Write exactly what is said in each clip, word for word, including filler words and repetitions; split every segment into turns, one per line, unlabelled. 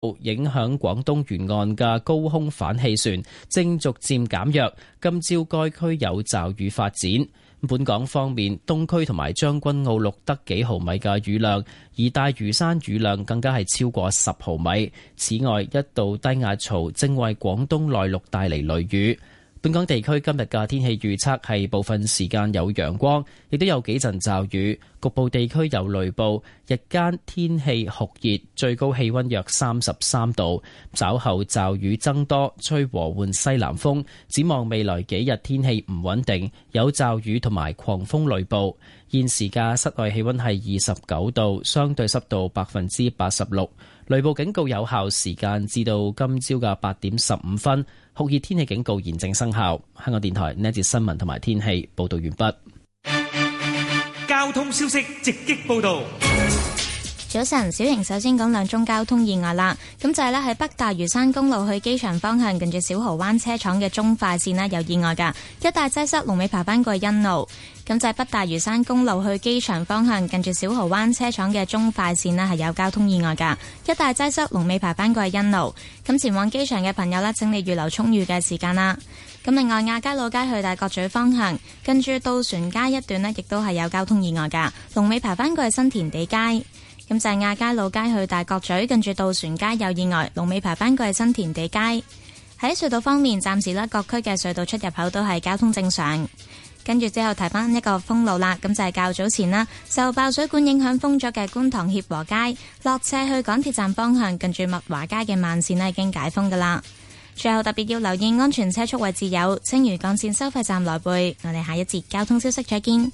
影響廣東沿岸嘅高空反氣旋正逐漸減弱，今朝該區有驟雨發展。本港方面，東區同埋將軍澳錄得幾毫米嘅雨量，而大嶼山雨量更加係超過十毫米。此外，一道低壓槽正為廣東內陸帶嚟雷雨。本港地區今日嘅天氣預測係部分時間有陽光，亦都有幾陣驟雨，局部地區有雷暴。日間天氣酷熱，最高氣溫約三十三度。稍後驟雨增多，吹和緩西南風。展望未來幾日天氣唔穩定，有驟雨同埋狂風雷暴。現時嘅室外氣溫係二十九度，相對濕度百分之八十六。雷暴警告有效時間至到今朝嘅八點十五分。酷熱天氣警告現正生效。香港電台呢一節新聞同埋天氣報道完畢。
交通消息直擊報道。
早晨，小瑩首先講兩宗交通意外啦。咁就係咧喺北大嶼山公路去機場方向，近住小蠔灣車廠嘅中快線啦，有意外噶，一帶擠塞，龍尾排翻過去欣路。咁就係北大嶼山公路去機場方向，近住小蠔灣車廠嘅中快線啦，係有交通意外噶，一帶擠塞，龍尾排翻過去欣路。咁前往機場嘅朋友咧，請你預留充裕嘅時間啦。咁另外，亞皆老街去大角咀方向，近住渡船街一段咧，亦都係有交通意外噶，龍尾排翻過去新田地街。咁就係亞皆老街去大角咀，近住渡船街有意外，龍尾排返過去新田地街。喺隧道方面，暫時呢各區嘅隧道出入口都係交通正常。跟住之後提翻一個封路啦，咁就係較早前啦，受爆水管影響封咗嘅觀塘協和街落斜去港鐵站方向，近住麥華街嘅慢線呢已經解封噶啦。最後特別要留意安全車速位置有青嶼幹線收費站來回。我哋下一節交通消息再見。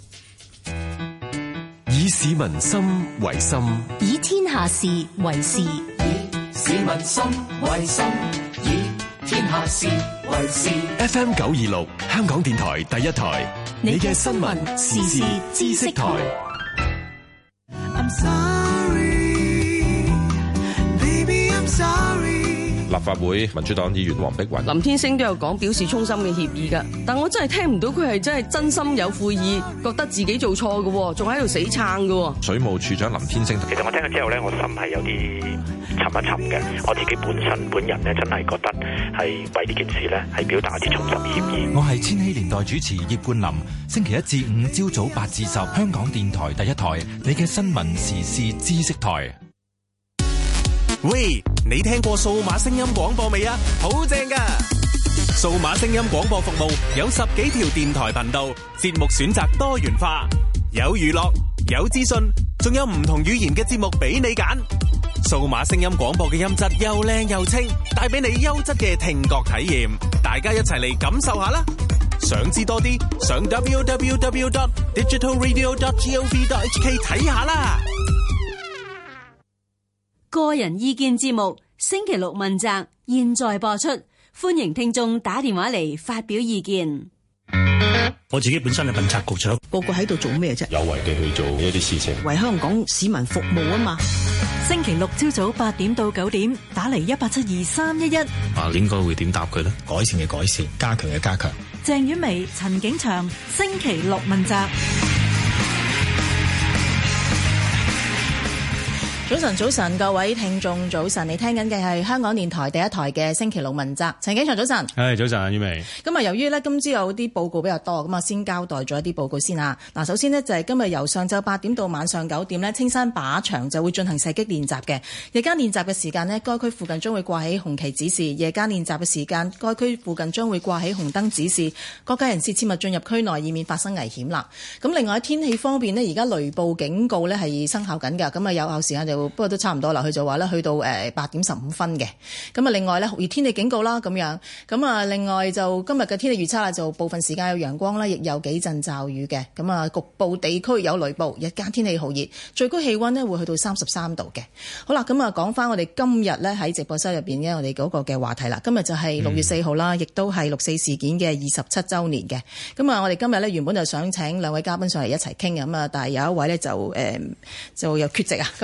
以市民心為心，
以天下事為事。以
市民心為心，以天下事為事。
F M 九二六，香港電台第一台，你嘅新聞時事知識台。
I'm sorry, baby, I'm sorry。
立法會民主黨議員黃碧雲、
林天星都有講表示衷心嘅歉意㗎，但我真係聽唔到佢係真係真心有悔意，覺得自己做錯嘅，仲喺度死撐嘅。
水務署長林天星，
其實我聽咗之後呢，我心係有啲沉一沉嘅。我自己本身本人呢，真係覺得係為呢件事呢，係表達一啲衷心歉意。
我係千禧年代主持葉冠霖，星期一至五朝早八至十，香港電台第一台，你嘅新聞時事知識台。
喂，你聽過數碼聲音廣播未啊？好正㗎！數碼聲音廣播服務有十幾條電台頻道，節目選擇多元化，有娛樂，有資訊，仲有唔同語言嘅節目俾你揀。數碼聲音廣播嘅音質又靚又清，帶俾你優質嘅聽覺體驗。大家一齊嚟感受下啦！想知多啲，上 double-u double-u double-u dot digital radio dot gov dot h k 睇下啦。
個人意見節目星期六問責，現在播出，歡迎聽眾打電話嚟發表意見。
我自己本身係問責局長，
個個喺度做咩啫？
有為地去做一啲事情，
為香港市民服務啊嘛。
星期六朝早八點到九點，打嚟一八七二三一一。
啊，應該會點答佢呢？改善嘅改善，加強嘅加強。
鄭婉薇、陳景祥，星期六問責。
早晨，早晨，各位聽眾早晨，你聽緊嘅係香港電台第一台嘅星期六問責。陳景祥早晨，
係早晨，婉薇。
咁啊，由於咧今朝有啲報告比較多，咁啊先交代咗一啲報告先啊。嗱，首先呢，就係今日由上晝八點到晚上九點呢，青山靶場就會進行射擊練習嘅。日間練習嘅時間呢，該區附近將會掛起紅旗指示；夜間練習嘅時間，該區附近將會掛起紅燈指示，各界人士切勿進入區內，以免發生危險啦。咁另外喺天氣方面呢，而家雷暴警告呢係生效緊㗎，咁啊有效時間就不過都差唔多啦。佢就話咧去到誒八點十五分嘅。咁啊，另外咧酷熱天氣警告啦咁樣。咁啊，另外就今日嘅天氣預測啦，就部分時間有陽光啦，亦有幾陣驟雨嘅。咁啊，局部地區有雷暴，日間天氣酷熱，最高氣溫呢會去到三十三度嘅。好啦，咁啊講翻我哋今日咧喺直播室入邊嘅我哋嗰個嘅話題啦。今日就係六月四號啦，亦都係六四事件嘅二十七週年嘅。咁啊，我哋今日咧原本就想請兩位嘉賓上嚟一齊傾嘅，咁啊，但係有一位咧就誒、呃、就有缺席啊。咁我先介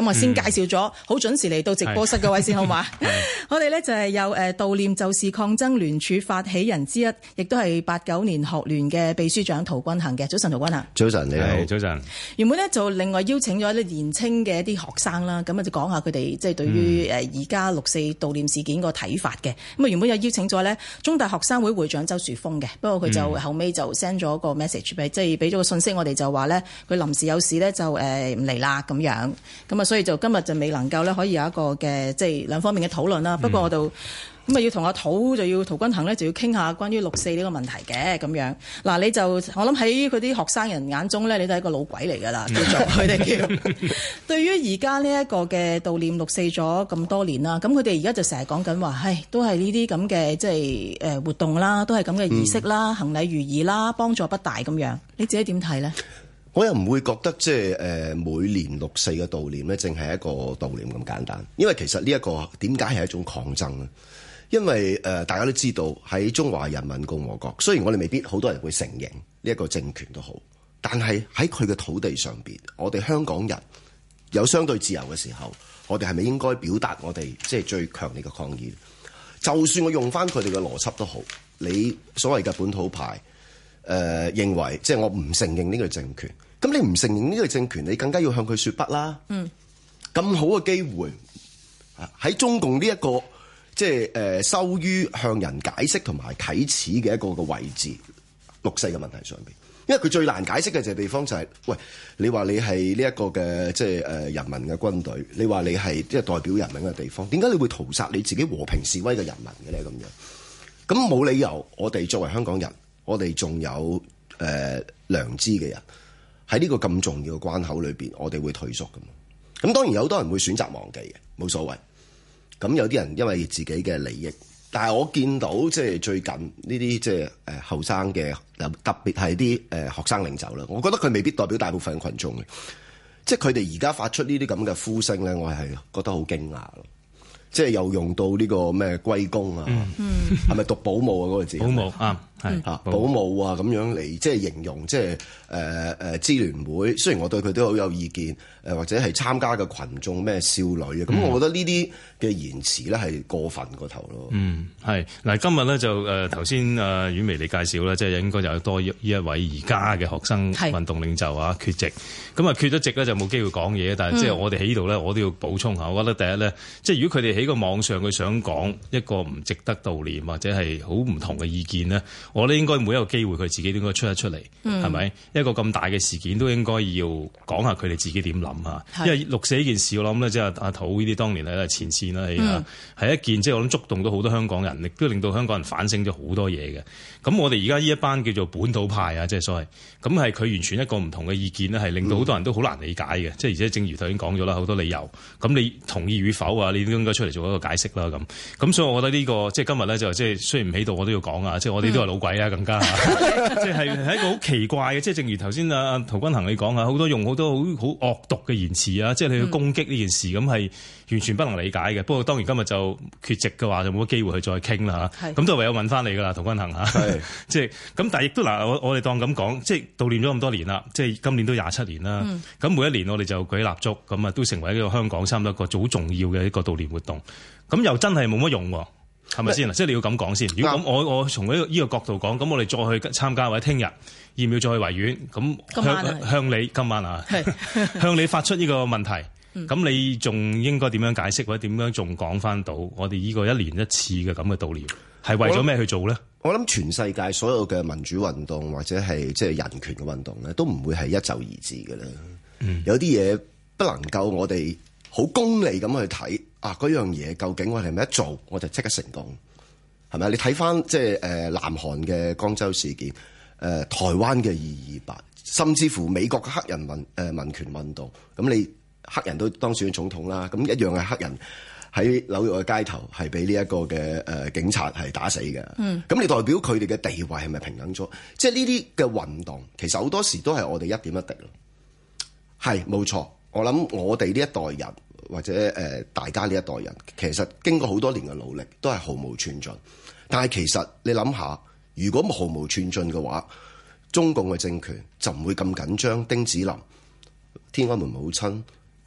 紹咗好準時嚟到直播室嘅位先好嘛？我哋咧就係有誒悼念就是抗爭聯署發起人之一，亦都係八九年學聯嘅秘書長陶君行嘅。早晨，陶君行。
早晨，你好。
早晨。
原本咧就另外邀請咗一啲年青嘅一啲學生啦，咁啊就講下佢哋即係對於誒而家六四悼念事件個睇法嘅。咁啊原本有邀請咗咧中大學生會會長周樹峰嘅，不過佢就後尾就 send 咗個 message 俾，即係俾咗個信息我哋就話咧佢臨時有事咧就誒唔嚟啦咁樣。咁啊所以就今日就未能夠咧可以有一個嘅即係兩方面嘅討論啦。不過我就咁啊要同阿陶就要陶君行咧就要傾下關於六四呢個問題嘅咁樣。嗱你就我諗喺佢啲學生人眼中咧，你都係一個老鬼嚟㗎啦，叫做佢哋叫。對於而家呢一個嘅悼念六四咗咁多年啦，咁佢哋而家就成日講緊話，唉，都係呢啲咁嘅即係誒活動啦，都係咁嘅儀式啦，嗯、行禮如儀啦，幫助不大咁樣。你自己點睇咧？
我又唔會覺得即係誒每年六四嘅悼念咧，淨係一個悼念咁簡單。因為其實呢一個點解係一種抗爭咧？因為誒、呃、大家都知道喺中華人民共和國，雖然我哋未必好多人會承認呢一個政權都好，但係喺佢嘅土地上邊，我哋香港人有相對自由嘅時候，我哋係咪應該表達我哋即係最強烈嘅抗議？就算我用翻佢哋嘅邏輯都好，你所謂嘅本土派。誒、呃、認為即係我唔承認呢個政權，咁你唔承認呢個政權，你更加要向佢說不啦。嗯，咁好嘅機會喺中共呢、這、一個即係誒羞於向人解釋同埋啟齒嘅一個嘅位置，六四嘅問題上邊，因為佢最難解釋嘅就係地方就係、是，喂，你話你係呢一個嘅即係誒人民嘅軍隊，你話你係即係代表人民嘅地方，點解你會屠殺你自己和平示威嘅人民嘅咧？咁樣，咁冇理由，我哋作為香港人。我哋仲有誒、呃、良知嘅人喺呢個咁重要嘅關口裏邊，我哋會退縮㗎嘛。咁當然有好多人會選擇忘記嘅，冇所謂。咁有啲人因為自己嘅利益，但係我見到即係最近呢啲即係誒後生嘅，特別係啲誒學生領袖啦，我覺得佢未必代表大部分群眾嘅。即係佢哋而家發出呢啲咁嘅呼聲咧，我係覺得好驚訝咯。即係又用到呢個咩歸公啊，係咪、嗯、讀保姆啊嗰、那個字？保姆啊，係嚇保姆啊咁樣嚟，即係形容即係誒誒支聯會。雖然我對佢都好有意見，誒、呃、或者係參加嘅群眾咩少女啊，咁、嗯、我覺得呢啲嘅言辭咧係過分過頭咯。嗯，係嗱，今日咧就誒頭先誒婉薇你介紹咧，即係應該有多呢一位而家嘅學生運動領袖啊缺席，咁啊缺咗席咧就冇機會講嘢，但係即係我哋喺呢度咧，我都要補充下，我覺得第一咧，即係如果佢哋喺個網上佢想講一個唔值得悼念或者係好唔同嘅意見咧，我覺得應該每一個機會佢自己都應該出一出嚟，係咪、嗯、一個咁大嘅事件都應該要講下佢哋自己點諗啊？因為六四呢件事我諗咧，即係阿陶呢啲當年係前線啦，係、嗯、一件即係我諗觸動到好多香港人，亦都令到香港人反省咗好多嘢嘅。咁我哋而家呢一班叫做本土派啊，即係所謂咁係佢完全一個唔同嘅意見咧，係令到好多人都好難理解嘅。即係、嗯、而且正如頭先講咗啦，好多理由，咁你同意與否啊？你都應該出嚟做一個解釋啦。咁咁所以我覺得呢、這個即係今日咧就即係雖然唔喺度，我都要講啊！即係我哋都係老鬼啊，更加即係係一個好奇怪嘅。即係正如頭先阿阿陶君行你講啊，好多用好多好好惡毒嘅言辭啊，即係你去攻擊呢件事，咁係、嗯、完全不能理解嘅。不過當然今日就缺席嘅話，就冇乜機會去再傾啦嚇。咁都唯有問翻你噶啦，陶君行嚇。係即係咁，但係亦都嗱，我我哋當咁講，即係悼念咗咁多年啦，即係今年都廿七年啦。咁、嗯、每一年我哋就舉蠟燭，咁啊都成為一個香港差唔多一個好重要嘅一個悼念活動。咁又真係冇乜用喎，係咪先？即係你要咁講先。如果咁，我我從呢個呢個角度講，咁我哋再去參加或者聽日要唔要再去維園？咁向向你今晚啊，向你發出呢個問題。咁、嗯、你仲應該點樣解釋，或者點樣仲講翻到我哋呢個一年一次嘅咁嘅悼念，係為咗咩去做咧？我諗全世界所有嘅民主運動或者係即係人權嘅運動咧，都唔會係一就而治嘅啦。嗯、有啲嘢不能夠我哋好功利咁去睇。啊！嗰樣嘢究竟我哋係咪一做我就即刻成功？係咪？你睇翻即係誒南韓嘅江州事件，誒、呃、台灣嘅二二八，甚至乎美國嘅黑人民誒、呃、民權運動，咁你黑人都當選總統啦，咁一樣係黑人喺紐約嘅街頭係俾呢一個嘅誒、呃、警察係打死嘅。嗯，咁你代表佢哋嘅地位係咪平等咗？即係呢啲嘅運動，其實好多時都係我哋一點一滴咯。係冇錯，我諗我哋呢一代人。或者誒、呃，大家呢一代人其實經過好多年嘅努力，都係毫無寸進。但係其實你諗下，如果毫無寸進嘅話，中共嘅政權就唔會咁緊張。丁子霖、天安門母親、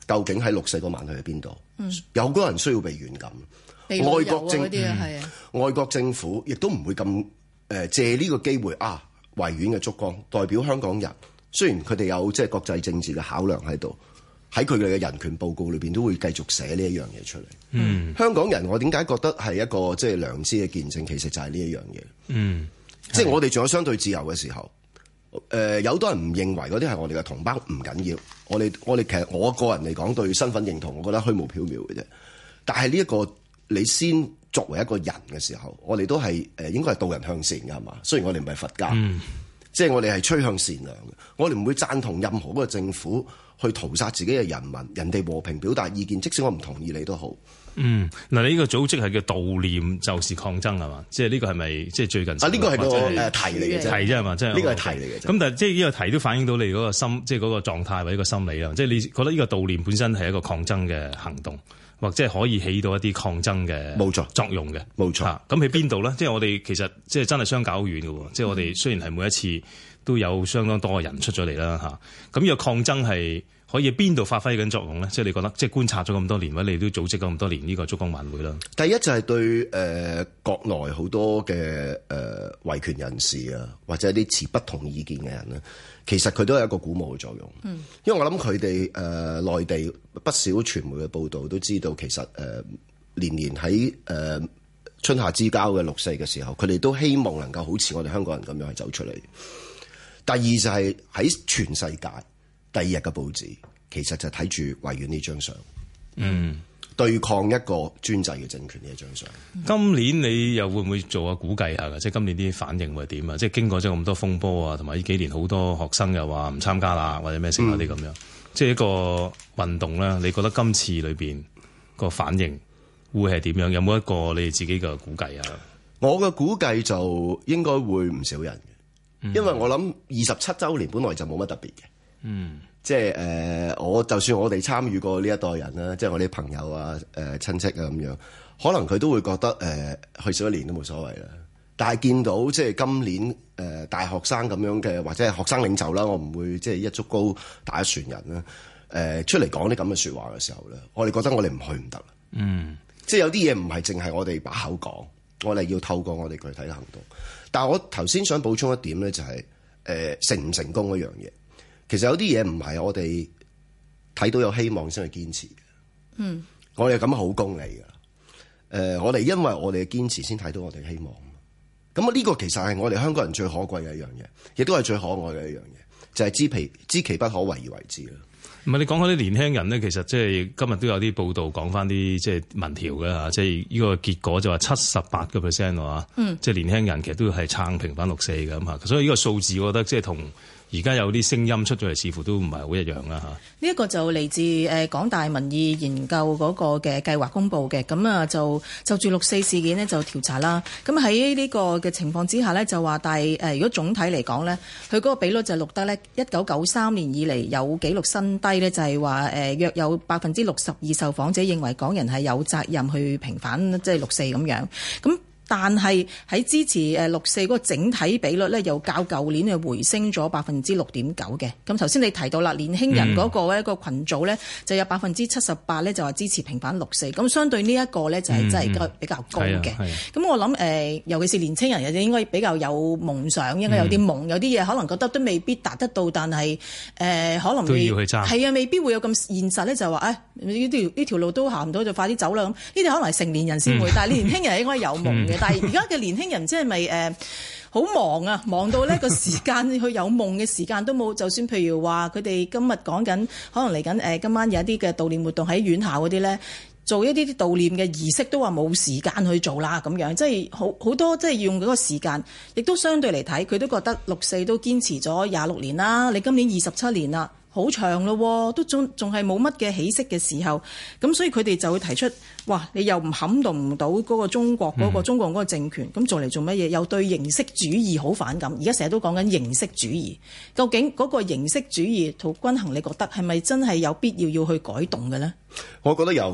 究竟喺六四嗰晚去喺邊度？
嗯、
有好多人需要被軟禁。
被
外國政
啲啊，係啊，
外國政府亦都唔會咁誒、呃、借呢個機會啊，維園嘅燭光代表香港人。雖然佢哋有即係國際政治嘅考量喺度，喺佢哋嘅人權報告裏邊都會繼續寫呢一樣嘢出嚟。
嗯，
香港人我點解覺得係一個即係良知嘅見證？其實就係呢一樣嘢。
嗯，
即係我哋仲有相對自由嘅時候，誒、呃、有好多人唔認為嗰啲係我哋嘅同胞，唔緊要。我哋我哋其實我個人嚟講對身份認同，我覺得虛無縹緲嘅啫。但係呢一個你先作為一個人嘅時候，我哋都係誒、呃、應該係導人向善嘅係嘛？雖然我哋唔係佛家。
嗯，
即係我哋係趨向善良嘅，我哋唔會贊同任何嗰個政府去屠殺自己嘅人民，人哋和平表達意見，即使我唔同意你都好。
嗯，嗱，你呢個組織係叫悼念就是抗爭係嘛？即係呢個係咪即係最近？
啊，呢個係個誒題嚟嘅啫，
題啫係嘛？即係
呢個係題嚟嘅。
咁但係即係呢個題都反映到你嗰個心，即係嗰個狀態或者個心理啦。即係你覺得呢個悼念本身係一個抗爭嘅行動，或者係可以起到一啲抗爭嘅冇錯作用嘅，
冇錯。
咁喺邊度咧？即係我哋其實即係真係相隔好遠嘅喎。即係我哋雖然係每一次都有相當多嘅人出咗嚟啦嚇，咁呢個抗爭係可以喺邊度發揮緊作用咧？即係你覺得，即係觀察咗咁多年，或者你都組織咗咁多年呢個燭光晚會啦。
第一就係對誒、呃、國內好多嘅誒、呃、維權人士啊，或者啲持不同意見嘅人咧，其實佢都有一個鼓舞嘅作用。嗯，因為我諗佢哋誒內地不少傳媒嘅報導都知道，其實誒、呃、年年喺誒、呃、春夏之交嘅六四嘅時候，佢哋都希望能夠好似我哋香港人咁樣去走出嚟。第二就係喺全世界第二日嘅報紙，其實就睇住維園呢張相，嗯，對抗一個專制嘅政權呢一張相。
今年你又會唔會做下估計下㗎？即係今年啲反應會點啊？即係經過咗咁多風波啊，同埋呢幾年好多學生又話唔參加啦，或者咩成嗰啲咁樣，即係一個運動啦。你覺得今次裏邊個反應會係點樣？有冇一個你哋自己嘅估計啊？
我嘅估計就應該會唔少人嘅。因為我諗二十七週年本來就冇乜特別嘅，嗯，即係誒、呃，我就算我哋參與過呢一代人啦，即係我啲朋友啊、誒、呃、親戚啊咁樣，可能佢都會覺得誒、呃、去少一年都冇所謂啦。但係見到即係今年誒、呃、大學生咁樣嘅，或者係學生領袖啦，我唔會即係一竹篙打一船人啦。誒、呃、出嚟講啲咁嘅説話嘅時候咧，我哋覺得我哋唔去唔得啦。嗯，即係有啲嘢唔係淨係我哋把口講，我哋要透過我哋具體嘅行動。但係我頭先想補充一點咧、就是，就係誒成唔成功一樣嘢。其實有啲嘢唔係我哋睇到有希望先去堅持嘅。嗯，我哋咁好功利㗎。誒、呃，我哋因為我哋嘅堅持先睇到我哋嘅希望。咁啊，呢個其實係我哋香港人最可貴嘅一樣嘢，亦都係最可愛嘅一樣嘢，就係、是、知其知其不可為而為之啦。
唔係你講開啲年輕人咧，其實即係今日都有啲報道講翻啲即係民調嘅嚇，即係呢個結果就話七十八個 percent 喎，嗯，即係年輕人其實都係撐平反六四嘅咁嚇，所以呢個數字我覺得即係同而家有啲聲音出咗嚟，似乎都唔係好一樣啦嚇。呢
一個就嚟自誒港大民意研究嗰個嘅計劃公佈嘅，咁啊就就住六四事件呢就調查啦。咁喺呢個嘅情況之下呢，就話但係誒如果總體嚟講呢，佢嗰個比率就錄得呢一九九三年以嚟有紀錄新低呢，就係話誒約有百分之六十二受訪者認為港人係有責任去平反即係六四咁樣咁。但係喺支持誒六四嗰個整體比率咧，又較舊年係回升咗百分之六點九嘅。咁頭先你提到啦，年輕人嗰個一個群組咧，就有百分之七十八咧就話支持平反六四。咁相對呢一個咧就係真係比較高嘅。咁、嗯、我諗誒、呃，尤其是年輕人，又應該比較有夢想，應該有啲夢，嗯、有啲嘢可能覺得都未必達得到，但係誒、呃、可能會
都要去爭。
係啊，未必會有咁現實咧，就話誒呢條呢條路都行唔到，就快啲走啦。咁呢啲可能係成年人先會，嗯、但係年輕人應該有夢嘅。嗯、但係而家嘅年輕人即係咪誒好忙啊？忙到呢個時間去有夢嘅時間都冇。就算譬如話佢哋今日講緊，可能嚟緊誒今晚有一啲嘅悼念活動喺院校嗰啲咧，做一啲啲悼念嘅儀式都話冇時間去做啦咁樣，即係好好多即係用嗰個時間，亦都相對嚟睇，佢都覺得六四都堅持咗廿六年啦，你今年二十七年啦。好長咯，都仲仲係冇乜嘅起色嘅時候，咁所以佢哋就會提出，哇！你又唔撼動唔到嗰個中國嗰、嗰個中國嗰個政權，咁做嚟做乜嘢？又對形式主義好反感。而家成日都講緊形式主義，究竟嗰個形式主義涂君衡，你覺得係咪真係有必要要去改動嘅咧？
我覺得有嘅，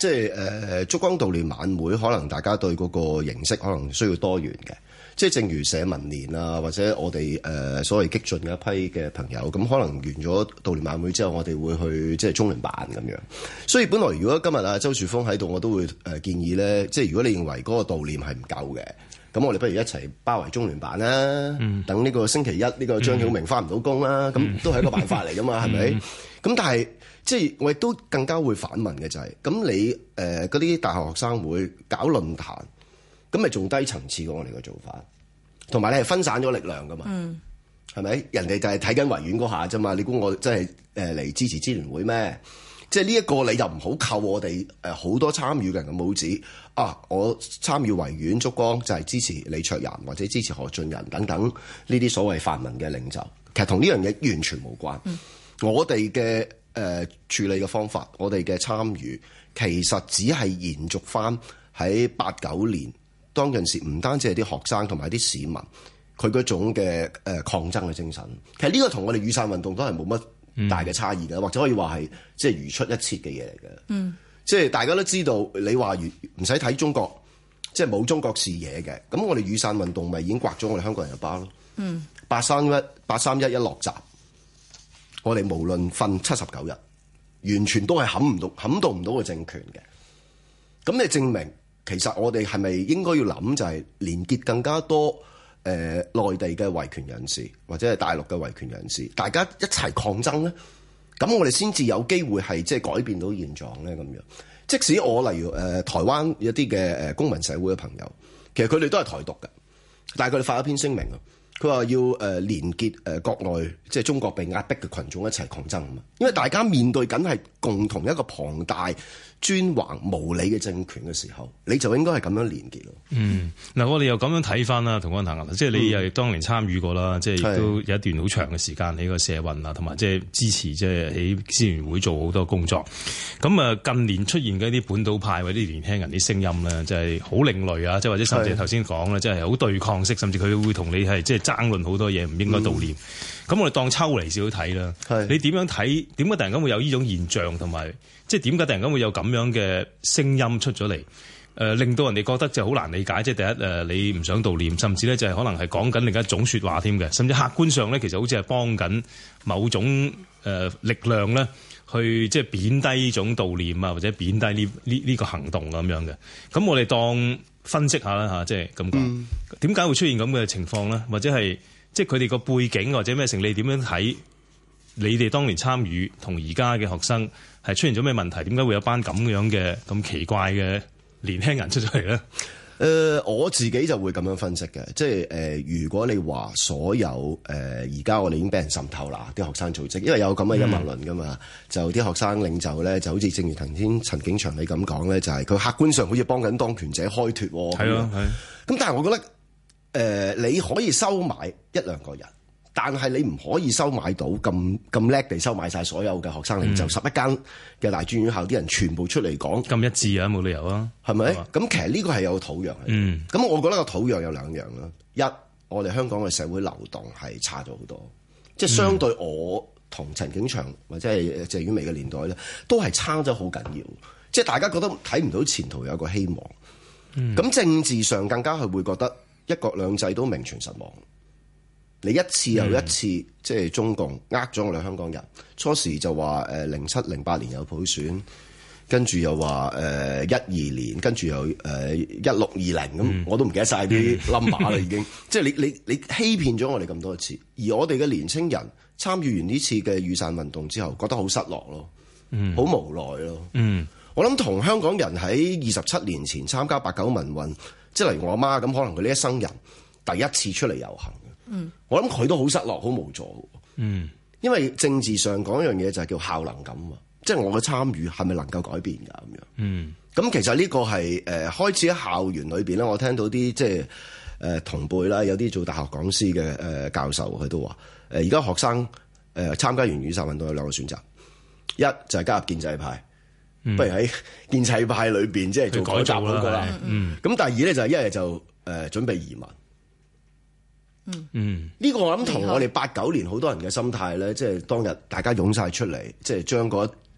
即係誒燭光悼念晚會，可能大家對嗰個形式可能需要多元嘅。即係正如社民連啊，或者我哋誒、呃、所謂激進嘅一批嘅朋友，咁可能完咗悼念晚會之後，我哋會去即係中聯辦咁樣。所以本來如果今日啊周樹峰喺度，我都會誒建議咧，即係如果你認為嗰個悼念係唔夠嘅，咁我哋不如一齊包圍中聯辦啦。嗯、等呢個星期一呢、呢個張曉明返唔到工啦，咁、嗯、都係一個辦法嚟噶嘛，係咪？咁但係即係我亦都更加會反問嘅就係、是，咁你誒嗰啲大學學生會搞論壇。咁咪仲低層次過我哋嘅做法，同埋你係分散咗力量噶嘛？係咪、嗯？人哋就係睇緊維園嗰下啫嘛？你估我真係誒嚟支持支聯會咩？即係呢一個你就唔好扣我哋誒好多參與嘅人嘅帽子啊！我參與維園燭光就係支持李卓人或者支持何俊仁等等呢啲所謂泛民嘅領袖，其實同呢樣嘢完全無關。嗯、我哋嘅誒處理嘅方法，我哋嘅參與其實只係延續翻喺八九年。當陣時唔單止係啲學生同埋啲市民，佢嗰種嘅誒抗爭嘅精神，其實呢個同我哋雨傘運動都係冇乜大嘅差異嘅，嗯、或者可以話係即係如出一轍嘅嘢嚟嘅。嗯，即係大家都知道，你話如唔使睇中國，即係冇中國視野嘅，咁我哋雨傘運動咪已經刮咗我哋香港人一巴咯。嗯，八三一八三一一落閘，我哋無論瞓七十九日，完全都係撼唔到撼動唔到個政權嘅。咁你證明？其實我哋係咪應該要諗就係連結更加多誒、呃、內地嘅維權人士或者係大陸嘅維權人士，大家一齊抗爭咧，咁我哋先至有機會係即係改變到現狀咧咁樣。即使我例如誒、呃、台灣一啲嘅誒公民社會嘅朋友，其實佢哋都係台獨嘅，但係佢哋發一篇聲明啊，佢話要誒、呃、連結誒國內即係中國被壓迫嘅群眾一齊抗爭啊嘛，因為大家面對緊係共同一個龐大專橫無理嘅政權嘅時候，你就應該係咁樣連結咯。嗯，
嗱，我哋又咁樣睇翻啦，同安行啊，即係你又當年參與過啦，嗯、即係亦都有一段好長嘅時間喺個社運啊，同埋即係支持即係喺支聯會做好多工作。咁啊，近年出現嘅一啲本土派或者啲年輕人啲聲音咧，就係好另類啊，即係或者甚至頭先講咧，即係好對抗式，甚至佢會同你係即係爭論好多嘢，唔應該悼念。咁、嗯、我哋當抽離少少睇啦。係你點樣睇？點解突然間會有呢種現象同埋？即係點解突然間會有咁樣嘅聲音出咗嚟？誒、呃，令到人哋覺得就好難理解。即係第一誒、呃，你唔想悼念，甚至咧就係可能係講緊另一種説話添嘅。甚至客觀上咧，其實好似係幫緊某種誒、呃、力量咧，去即係貶低呢種悼念啊，或者貶低呢呢呢個行動咁樣嘅。咁我哋當分析下啦嚇，即係咁講，點解會出現咁嘅情況咧？或者係即係佢哋個背景或者咩成？你點樣睇？你哋當年參與同而家嘅學生係出現咗咩問題？點解會有班咁樣嘅咁奇怪嘅年輕人出咗嚟咧？誒、
呃，我自己就會咁樣分析嘅，即係誒、呃，如果你話所有誒而家我哋已經俾人滲透啦，啲學生組織，因為有咁嘅陰謀論噶嘛，嗯、就啲學生領袖咧，就好似正如頭先陳景祥你咁講咧，就係、是、佢客觀上好似幫緊當權者開脫喎。係啊，係。咁但係我覺得誒、呃，你可以收買一兩個人。但係你唔可以收買到咁咁叻地收買晒所有嘅學生領袖，十一間嘅大專院校啲人全部出嚟講
咁一致啊，冇理由啊，
係咪？咁吧其實呢個係有土壤嘅。嗯，咁我覺得個土壤有兩樣啦。一，我哋香港嘅社會流動係差咗好多，即係相對我同陳景祥或者係謝婉薇嘅年代咧，都係差咗好緊要。即係大家覺得睇唔到前途有個希望。嗯，咁政治上更加係會覺得一國兩制都名存實亡。你一次又一次，嗯、即係中共呃咗我哋香港人。初時就話誒零七零八年有普選，跟住又話誒一二年，跟住又誒一六二零咁，嗯、我都唔記得晒啲 number 啦已經。即係你你你欺騙咗我哋咁多次，而我哋嘅年青人參與完呢次嘅雨傘運動之後，覺得好失落咯，好、嗯、無奈咯。嗯、我諗同香港人喺二十七年前參加八九民運，即係例如我阿媽咁，可能佢呢一生人第一次出嚟遊行。嗯，我諗佢都好失落，好無助。嗯，因為政治上講一樣嘢就係叫效能感啊，即係我嘅參與係咪能夠改變㗎咁樣？嗯，咁其實呢個係誒、呃、開始喺校園裏邊咧，我聽到啲即係誒、呃、同輩啦，有啲做大學講師嘅誒、呃、教授佢都話誒而家學生誒、呃、參加完雨傘運動有兩個選擇，一就係加入建制派，嗯、不如喺建制派裏邊即係做改革嗰個啦。嗯，咁第二咧就係一係就誒、呃、準備移民。嗯嗯，呢個我諗同我哋八九年好多人嘅心態咧，即係當日大家湧晒出嚟，即係將嗰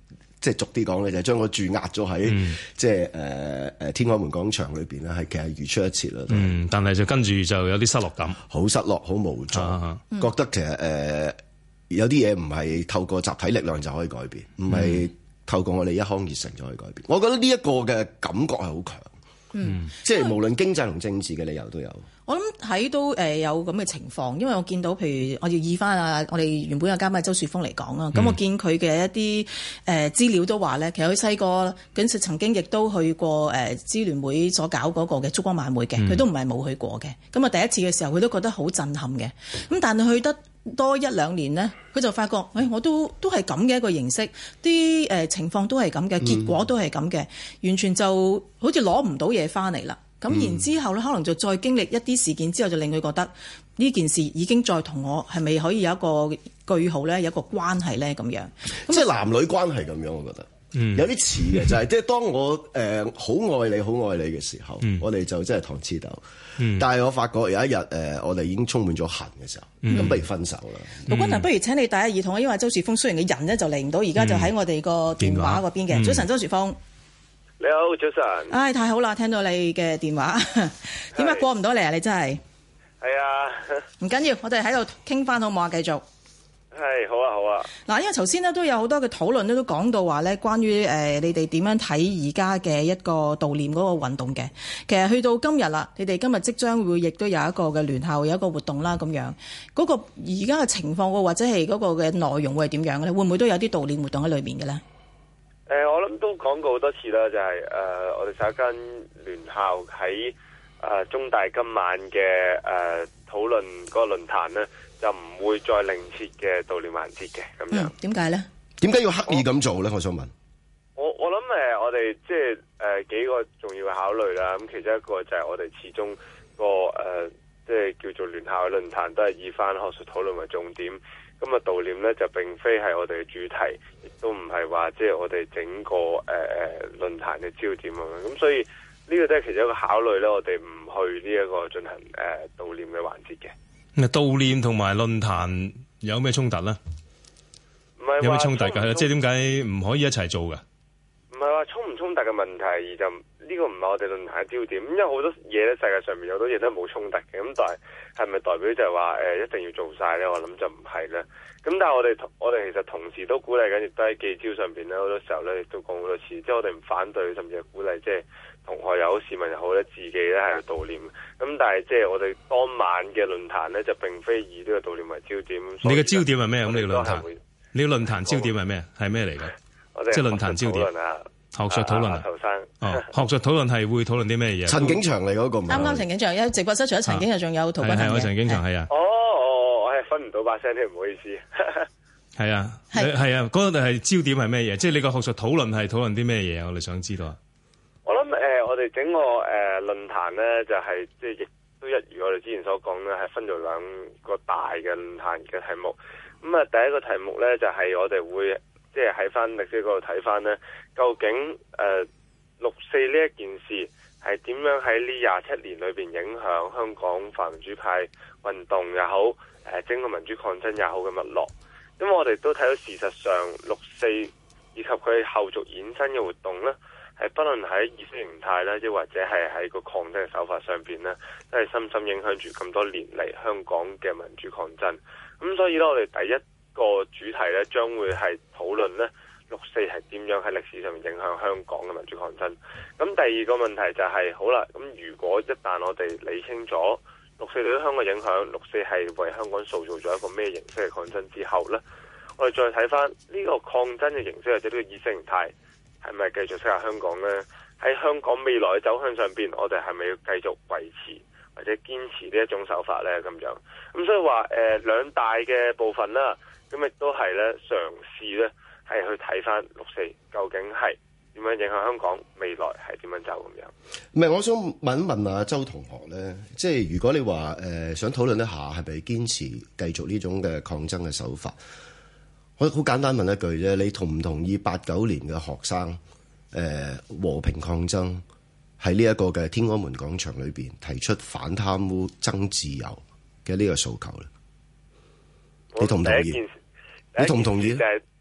即係俗啲講咧，就係將個注壓咗喺、嗯、即係誒誒天安門廣場裏邊咧，係其實如出一轍啦。
嗯，但係就跟住就有啲失落感，
好失落，好無助，啊、覺得其實誒、呃、有啲嘢唔係透過集體力量就可以改變，唔係透過我哋一腔熱誠就可以改變。我覺得呢一個嘅感覺係好強，嗯，即係無論經濟同政治嘅理由都有。
我諗喺都誒有咁嘅情況，因為我見到譬如我要以翻啊，我哋原本嘅嘉賓周樹峰嚟講啊，咁、嗯、我見佢嘅一啲誒資料都話咧，其實佢細個嗰時曾經亦都去過誒支聯會所搞嗰個嘅燭光晚會嘅，佢、嗯、都唔係冇去過嘅。咁啊第一次嘅時候，佢都覺得好震撼嘅。咁但係去得多一兩年呢，佢就發覺，誒、哎、我都都係咁嘅一個形式，啲誒情況都係咁嘅，結果都係咁嘅，完全就好似攞唔到嘢翻嚟啦。咁、嗯、然之後咧，可能就再經歷一啲事件之後，就令佢覺得呢件事已經再同我係咪可以有一個句號咧，有一個關係咧咁樣。
即係男女關係咁樣，我覺得、嗯、有啲似嘅，就係即係當我誒好、呃、愛你、好愛你嘅時候，嗯、我哋就真係糖黐豆。嗯、但係我發覺有一日誒、呃，我哋已經充滿咗恨嘅時候，咁、嗯、不如分手啦。陸
君騰，不如請你帶下耳筒啊，因為周樹峰雖然嘅人咧就嚟唔到，而家就喺我哋個電話嗰邊嘅。早晨，周樹峰。
你好，早晨。唉、
哎，太好啦，聽到你嘅電話。點解過唔到嚟啊？你真係。
係啊。
唔緊要，我哋喺度傾翻好唔好啊？繼續。
係，好啊，好啊。
嗱，因為頭先呢都有好多嘅討論咧，都講到話咧，關於誒、呃、你哋點樣睇而家嘅一個悼念嗰個運動嘅。其實去到今日啦，你哋今日即將會亦都有一個嘅聯校有一個活動啦，咁樣嗰、那個而家嘅情況或者係嗰個嘅內容會係點樣嘅咧？會唔會都有啲悼念活動喺裏面嘅咧？
誒、呃，我諗都講過好多次啦，就係、是、誒、呃，我哋十一間聯校喺誒、呃、中大今晚嘅誒討論嗰個論壇咧，就唔會再另設嘅悼念環節嘅咁樣。
點解咧？
點解要刻意咁做咧？我想問。
我我諗誒，我哋即係誒幾個重要嘅考慮啦。咁其中一個就係我哋始終個誒即係叫做聯校嘅論壇都係以翻學術討論為重點。咁啊，悼念咧就並非係我哋嘅主題，亦都唔係話即係我哋整個誒誒、呃、論壇嘅焦點咁樣。咁所以呢個都係其中一個考慮咧，我哋唔去呢一個進行誒、呃、悼念嘅環節嘅。
咁啊，悼念同埋論壇有咩衝突咧？
唔係
有咩衝突㗎？即係點解唔可以一齊做㗎？
唔係話衝唔衝突嘅問題，而就呢、這個唔係我哋論壇嘅焦點。因為好多嘢咧，世界上面有好多嘢都冇衝突嘅。咁但係係咪代表就係話誒一定要做晒咧？我諗就唔係啦。咁但係我哋我哋其實同時都鼓勵緊，亦都喺記招上邊咧，好多時候咧亦都講好多次，即係我哋唔反對，甚至係鼓勵，即係同學又好、市民又好咧，自己咧係去悼念。咁但係即係我哋當晚嘅論壇咧，就並非以呢個悼念為焦點。你
嘅焦點係咩？咁你嘅論壇，你嘅論壇焦點係咩？係咩嚟嘅？即係論壇焦點。學術討論啊，
頭生
哦，學術討論係會討論啲咩嘢？
陳景祥嚟嗰個，
啱啱陳景祥，有直播室除咗陳景祥，仲有陶君行嘅。
係係，陳景祥係啊。
哦哦，我係分唔到把聲添，唔好意思。
係啊，係啊，嗰個係焦點係咩嘢？即係你個學術討論係討論啲咩嘢？我哋想知道啊。
我諗誒、呃，我哋整個誒、呃、論壇咧，就係即係亦都一如我哋之前所講咧，係分咗兩個大嘅論壇嘅題目。咁、嗯、啊，第一個題目咧就係、是、我哋會。即係喺翻歷史嗰度睇翻呢，究竟誒、呃、六四呢一件事係點樣喺呢廿七年裏邊影響香港泛民主派運動又好，誒、呃、整個民主抗爭又好嘅脈絡？因為我哋都睇到事實上六四以及佢後續衍生嘅活動呢，係不論喺意識形態啦，亦或者係喺個抗爭嘅手法上邊呢，都係深深影響住咁多年嚟香港嘅民主抗爭。咁所以呢，我哋第一個主題咧，將會係討論咧六四係點樣喺歷史上面影響香港嘅民主抗爭。咁第二個問題就係、是、好啦，咁如果一旦我哋理清楚六四對香港影響，六四係為香港塑造咗一個咩形式嘅抗爭之後咧，我哋再睇翻呢個抗爭嘅形式或者呢個意識形態係咪繼續適合香港咧？喺香港未來嘅走向上邊，我哋係咪要繼續維持或者堅持呢一種手法咧？咁樣咁所以話誒兩大嘅部分啦。咁亦都係咧，嘗試咧係去睇翻六四究竟係點樣影響香港未來係點樣走咁樣。
唔係，我想問一問阿周同學咧，即係如果你話誒、呃、想討論一下係咪堅持繼續呢種嘅抗爭嘅手法，我好簡單問一句啫，你同唔同意八九年嘅學生誒、呃、和平抗爭喺呢一個嘅天安門廣場裏邊提出反貪污、爭自由嘅呢個訴求咧？你同唔同意？你同唔同意？
第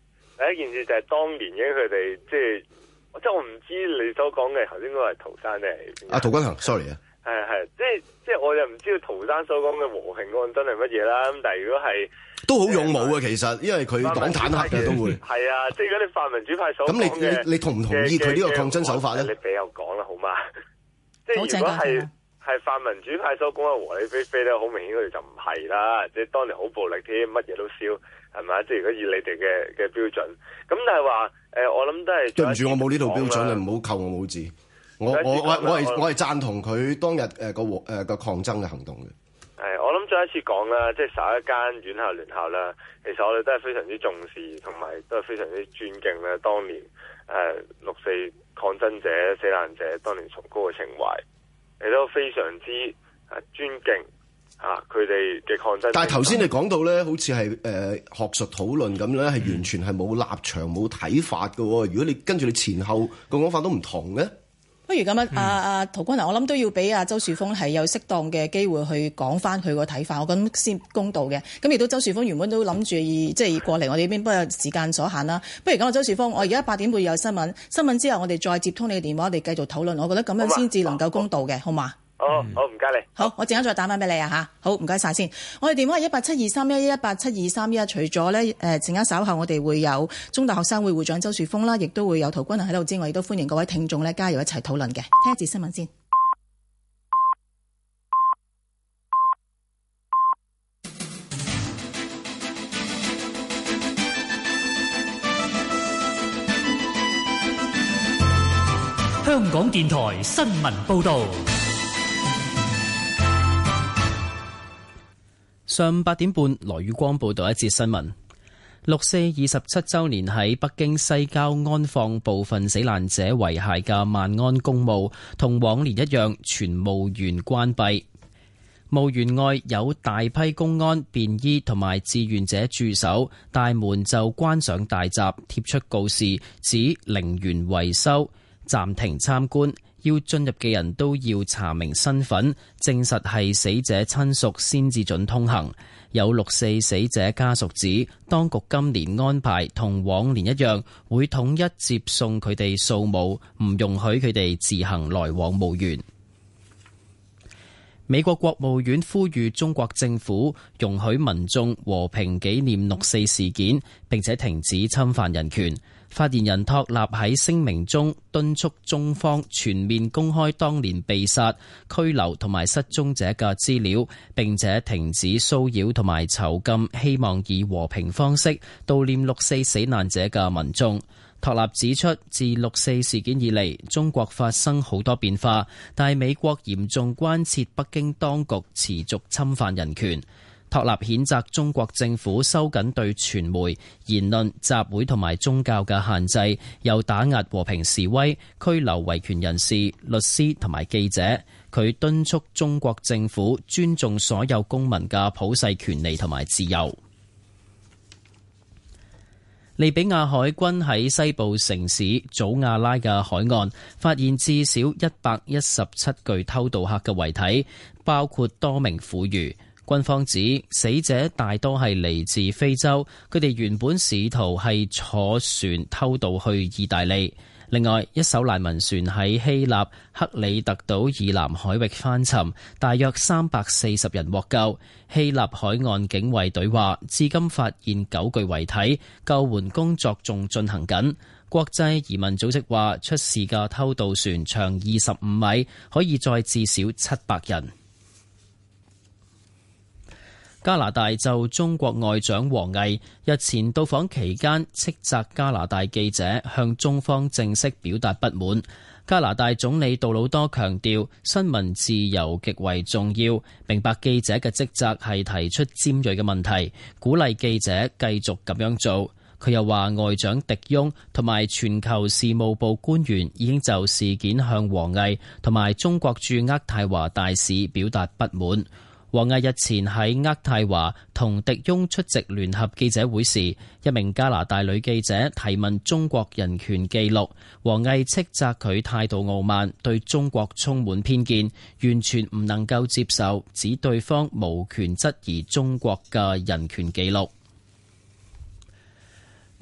第一件事就係當年嘅佢哋即係，即係我唔知你所講嘅頭先嗰個係陶山定係
啊陶君行 ，sorry 啊，
係係，即係即係我又唔知道陶山所講嘅和平案真係乜嘢啦。咁但係如果係
都好勇武嘅，其實因為佢擋坦克嘅都會
係啊，即係如果你泛民主派所
咁你你你同唔同意佢呢個抗爭手法咧？
你俾我講啦，好嘛？即係如果係。係泛民主派所講嘅和理非非咧，好明顯佢哋就唔係啦，即係當年好暴力添，乜嘢都燒，係咪？即係如果以你哋嘅嘅標準，咁但係話誒，我諗都係
對唔住，我冇呢套標準，你唔好扣我冇字。我我我我係我係贊同佢當日誒個和誒個抗爭嘅行動嘅。
係，我諗再一次講啦，即係十一間院校聯校啦，其實我哋都係非常之重視，同埋都係非常之尊敬咧。當年誒六四抗爭者、死難者當年崇高嘅情懷。亦都非常之啊尊敬啊佢哋嘅抗爭。
但係頭先你講到咧，好似係誒學術討論咁咧，係完全係冇立場冇睇法嘅。如果你跟住你前後個講法都唔同嘅，
不如咁樣，阿阿陶君行，我諗都要俾阿周樹峰係有適當嘅機會去講翻佢個睇法，我咁先公道嘅。咁亦都周樹峰原本都諗住即係過嚟我哋呢邊，不過時間所限啦。不如講啊，周樹峰，我而家八點半有新聞，新聞之後我哋再接通你嘅電話，我哋繼續討論。我覺得咁樣先至能夠公道嘅，好嘛？
好，好唔該你。
好，我陣間再打翻俾你啊吓。好，唔該晒先。我哋電話係一八七二三一一八七二三一。除咗咧誒，陣間稍後我哋會有中大學生會會長周樹峰啦，亦都會有陶君行喺度之外，亦都歡迎各位聽眾咧加入一齊討論嘅。聽一節新聞先。
香港電台新聞報道。
上午八點半，羅宇光報道一節新聞。六四二十七週年喺北京西郊安放部分死難者遺骸嘅萬安公墓，同往年一樣，全墓園關閉。墓園外有大批公安、便衣同埋志願者駐守，大門就關上大閘，貼出告示，指陵園維修，暫停參觀。要進入嘅人都要查明身份，證實係死者親屬先至准通行。有六四死者家屬指，當局今年安排同往年一樣，會統一接送佢哋掃墓，唔容許佢哋自行來往墓園。美國國務院呼籲中國政府容許民眾和平紀念六四事件，並且停止侵犯人權。發言人托納喺聲明中敦促中方全面公開當年被殺、拘留同埋失蹤者嘅資料，並且停止騷擾同埋囚禁希望以和平方式悼念六四死難者嘅民眾。托納指出，自六四事件以嚟，中國發生好多變化，但係美國嚴重關切北京當局持續侵犯人權。托納譴責中國政府收緊對傳媒、言論、集會同埋宗教嘅限制，又打壓和平示威、拘留維權人士、律師同埋記者。佢敦促中國政府尊重所有公民嘅普世權利同埋自由。利比亞海軍喺西部城市祖亞拉嘅海岸發現至少一百一十七具偷渡客嘅遺體，包括多名婦孺。軍方指死者大多係嚟自非洲，佢哋原本試圖係坐船偷渡去意大利。另外，一艘難民船喺希臘克里特島以南海域翻沉，大約三百四十人獲救。希臘海岸警衛隊話，至今發現九具遺體，救援工作仲進行緊。國際移民組織話，出事嘅偷渡船長二十五米，可以載至少七百人。加拿大就中國外長王毅日前到訪期間斥責加拿大記者向中方正式表達不滿。加拿大總理杜魯多強調新聞自由極為重要，明白記者嘅職責係提出尖銳嘅問題，鼓勵記者繼續咁樣做。佢又話外長迪翁同埋全球事務部官員已經就事件向王毅同埋中國駐渥太華大使表達不滿。王毅日前喺渥太華同迪翁出席聯合記者會時，一名加拿大女記者提問中國人權記錄，王毅斥責佢態度傲慢，對中國充滿偏見，完全唔能夠接受，指對方無權質疑中國嘅人權記錄。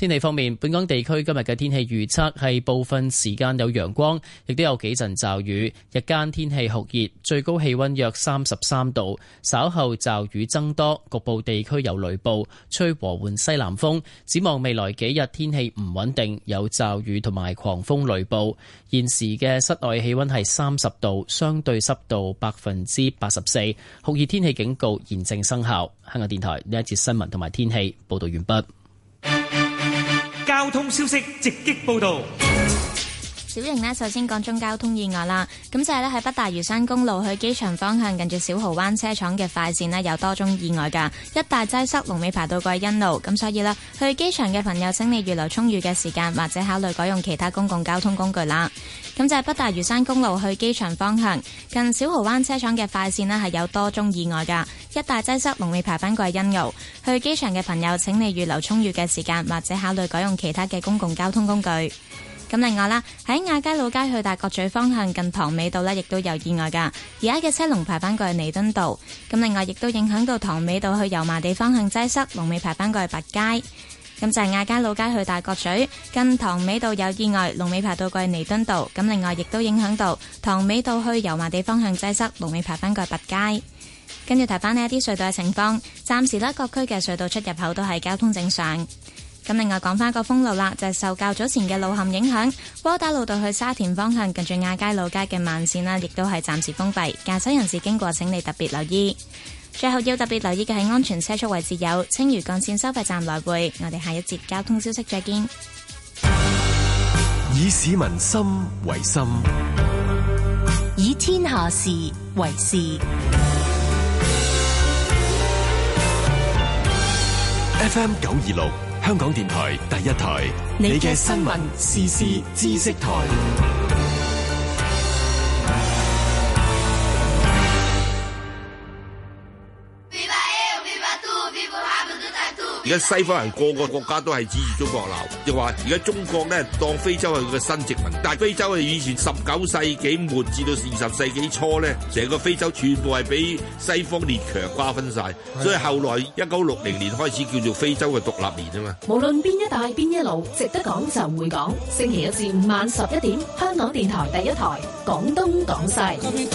天氣方面，本港地區今日嘅天氣預測係部分時間有陽光，亦都有幾陣驟雨。日間天氣酷熱，最高氣溫約三十三度。稍後驟雨增多，局部地區有雷暴，吹和緩西南風。展望未來幾日天氣唔穩定，有驟雨同埋狂風雷暴。現時嘅室外氣溫係三十度，相對濕度百分之八十四，酷熱天氣警告現正生效。香港電台呢一節新聞同埋天氣報道完畢。
交通消息直擊報道。
小瑩呢，首先講中交通意外啦。咁就係呢，喺北大嶼山公路去機場方向，近住小蠔灣車廠嘅快線呢，有多宗意外㗎，一大擠塞，龍尾排到貴欣路。咁所以呢，去機場嘅朋友請你預留充裕嘅時間，或者考慮改用其他公共交通工具啦。咁就係北大嶼山公路去機場方向，近小蠔灣車廠嘅快線呢，係有多宗意外㗎，一大擠塞，龍尾排返貴欣路。去機場嘅朋友請你預留充裕嘅時間，或者考慮改用其他嘅公共交通工具。咁另外啦，喺亞皆老街去大角咀方向近塘尾道呢，亦都有意外㗎。而家嘅車龍排返過去彌敦道。咁另外亦都影響到塘尾道去油麻地方向擠塞，龍尾排返過去白街。咁就係亞皆老街去大角咀近塘尾道有意外，龍尾排到過去彌敦道。咁另外亦都影響到塘尾道去油麻地方向擠塞，龍尾排返過去白街。跟住提翻呢一啲隧道嘅情況，暫時呢各區嘅隧道出入口都係交通正常。咁另外講翻個封路啦，就係、是、受較早前嘅路陷影響，窩打老道去沙田方向近住亞皆老街嘅慢線啦，亦都係暫時封閉，駕駛人士經過請你特別留意。最後要特別留意嘅係安全車速位置有青嶼幹線收費站來回。我哋下一節交通消息再見。
以市民心為心，
以天下事為事。
F M 九二六香港電台第一台，你嘅新聞時事知識台。
而家西方人個個國家都係指住中國鬧，就話而家中國咧當非洲係佢嘅新殖民，但係非洲係以前十九世紀末至到二十世紀初咧，成個非洲全部係俾西方列強瓜分晒，所以後來一九六零年開始叫做非洲嘅獨立年啊嘛。
無論邊一帶邊一路，值得講就會講。星期一至五晚十一點，香港電台第一台，廣東廣西。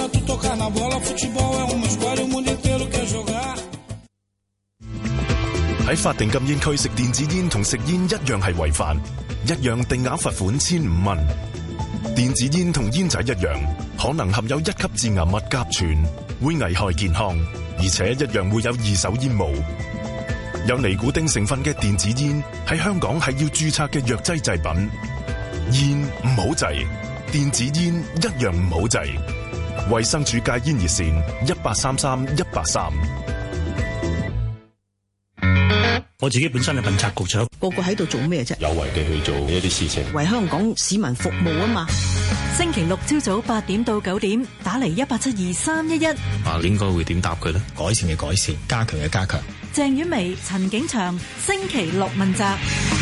喺法定禁煙區食電子煙同食煙一樣係違法，一樣定額罰款千五蚊。電子煙同煙仔一樣，可能含有一級致癌物甲醛，會危害健康，而且一樣會有二手煙霧。有尼古丁成分嘅電子煙喺香港係要註冊嘅藥劑製品。煙唔好制，電子煙一樣唔好制。衛生署戒煙熱線一八三三一八三。
我自己本身係問責局長，
個個喺度做咩啫？
有為地去做一啲事情，
為香港市民服務啊嘛。
星期六朝早八點到九點，打嚟一八七二三一一。
啊，應該會點答佢呢？
改善嘅改善，加強嘅加強。
鄭婉薇、陳景祥，星期六問責。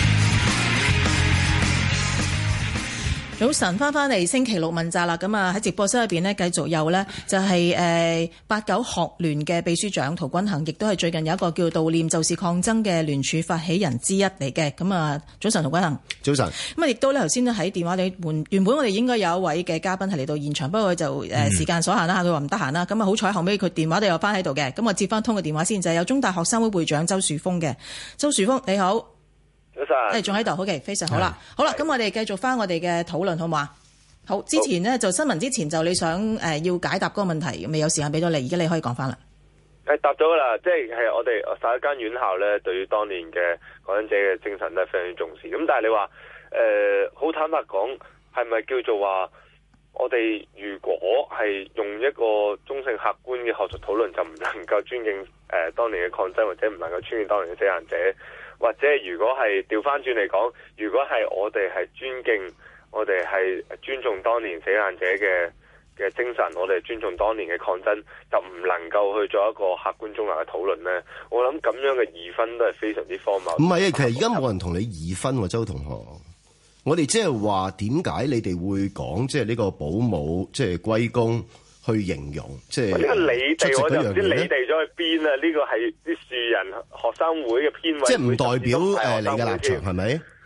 早晨，翻返嚟星期六問責啦。咁啊喺直播室入邊呢，繼續有呢就係誒八九學聯嘅秘書長陶君行，亦都係最近有一個叫悼念就是抗爭嘅聯署發起人之一嚟嘅。咁啊，早晨，陶君行。
早晨。
咁啊，亦都咧頭先咧喺電話裏換，原本我哋應該有一位嘅嘉賓係嚟到現場，不過佢就誒時間所限啦，佢話唔得閒啦。咁啊好彩後尾佢電話都有翻喺度嘅。咁我接翻通個電話先，就係有中大學生會會長周樹峰嘅。周樹峰你好。
早晨，
誒仲喺度，好嘅，非常好啦。好啦，咁我哋繼續翻我哋嘅討論，好嘛？好，之前呢，就新聞之前就你想誒、呃、要解答嗰個問題，未有時間俾咗你，而家你可以講翻啦。
誒答咗噶啦，即係係我哋十一間院校咧，對於當年嘅抗爭者嘅精神都係非常重視。咁但係你話誒好坦白講，係咪叫做話我哋如果係用一個中性客觀嘅學術討論，就唔能夠尊敬誒、呃、當年嘅抗爭，或者唔能夠尊敬當年嘅死難者？或者如果係調翻轉嚟講，如果係我哋係尊敬，我哋係尊重當年死難者嘅嘅精神，我哋尊重當年嘅抗爭，就唔能夠去做一個客觀中立嘅討論呢？我諗咁樣嘅二分都係非常之荒謬。
唔係啊，其實而家冇人同你二分喎，周同學。我哋即係話點解你哋會講即係呢個保姆即係歸功去形容，即係
呢個你哋我就唔知你哋咗去邊啊？呢個係啲樹人學生會嘅編委，
即係唔代表誒你嘅立場係咪？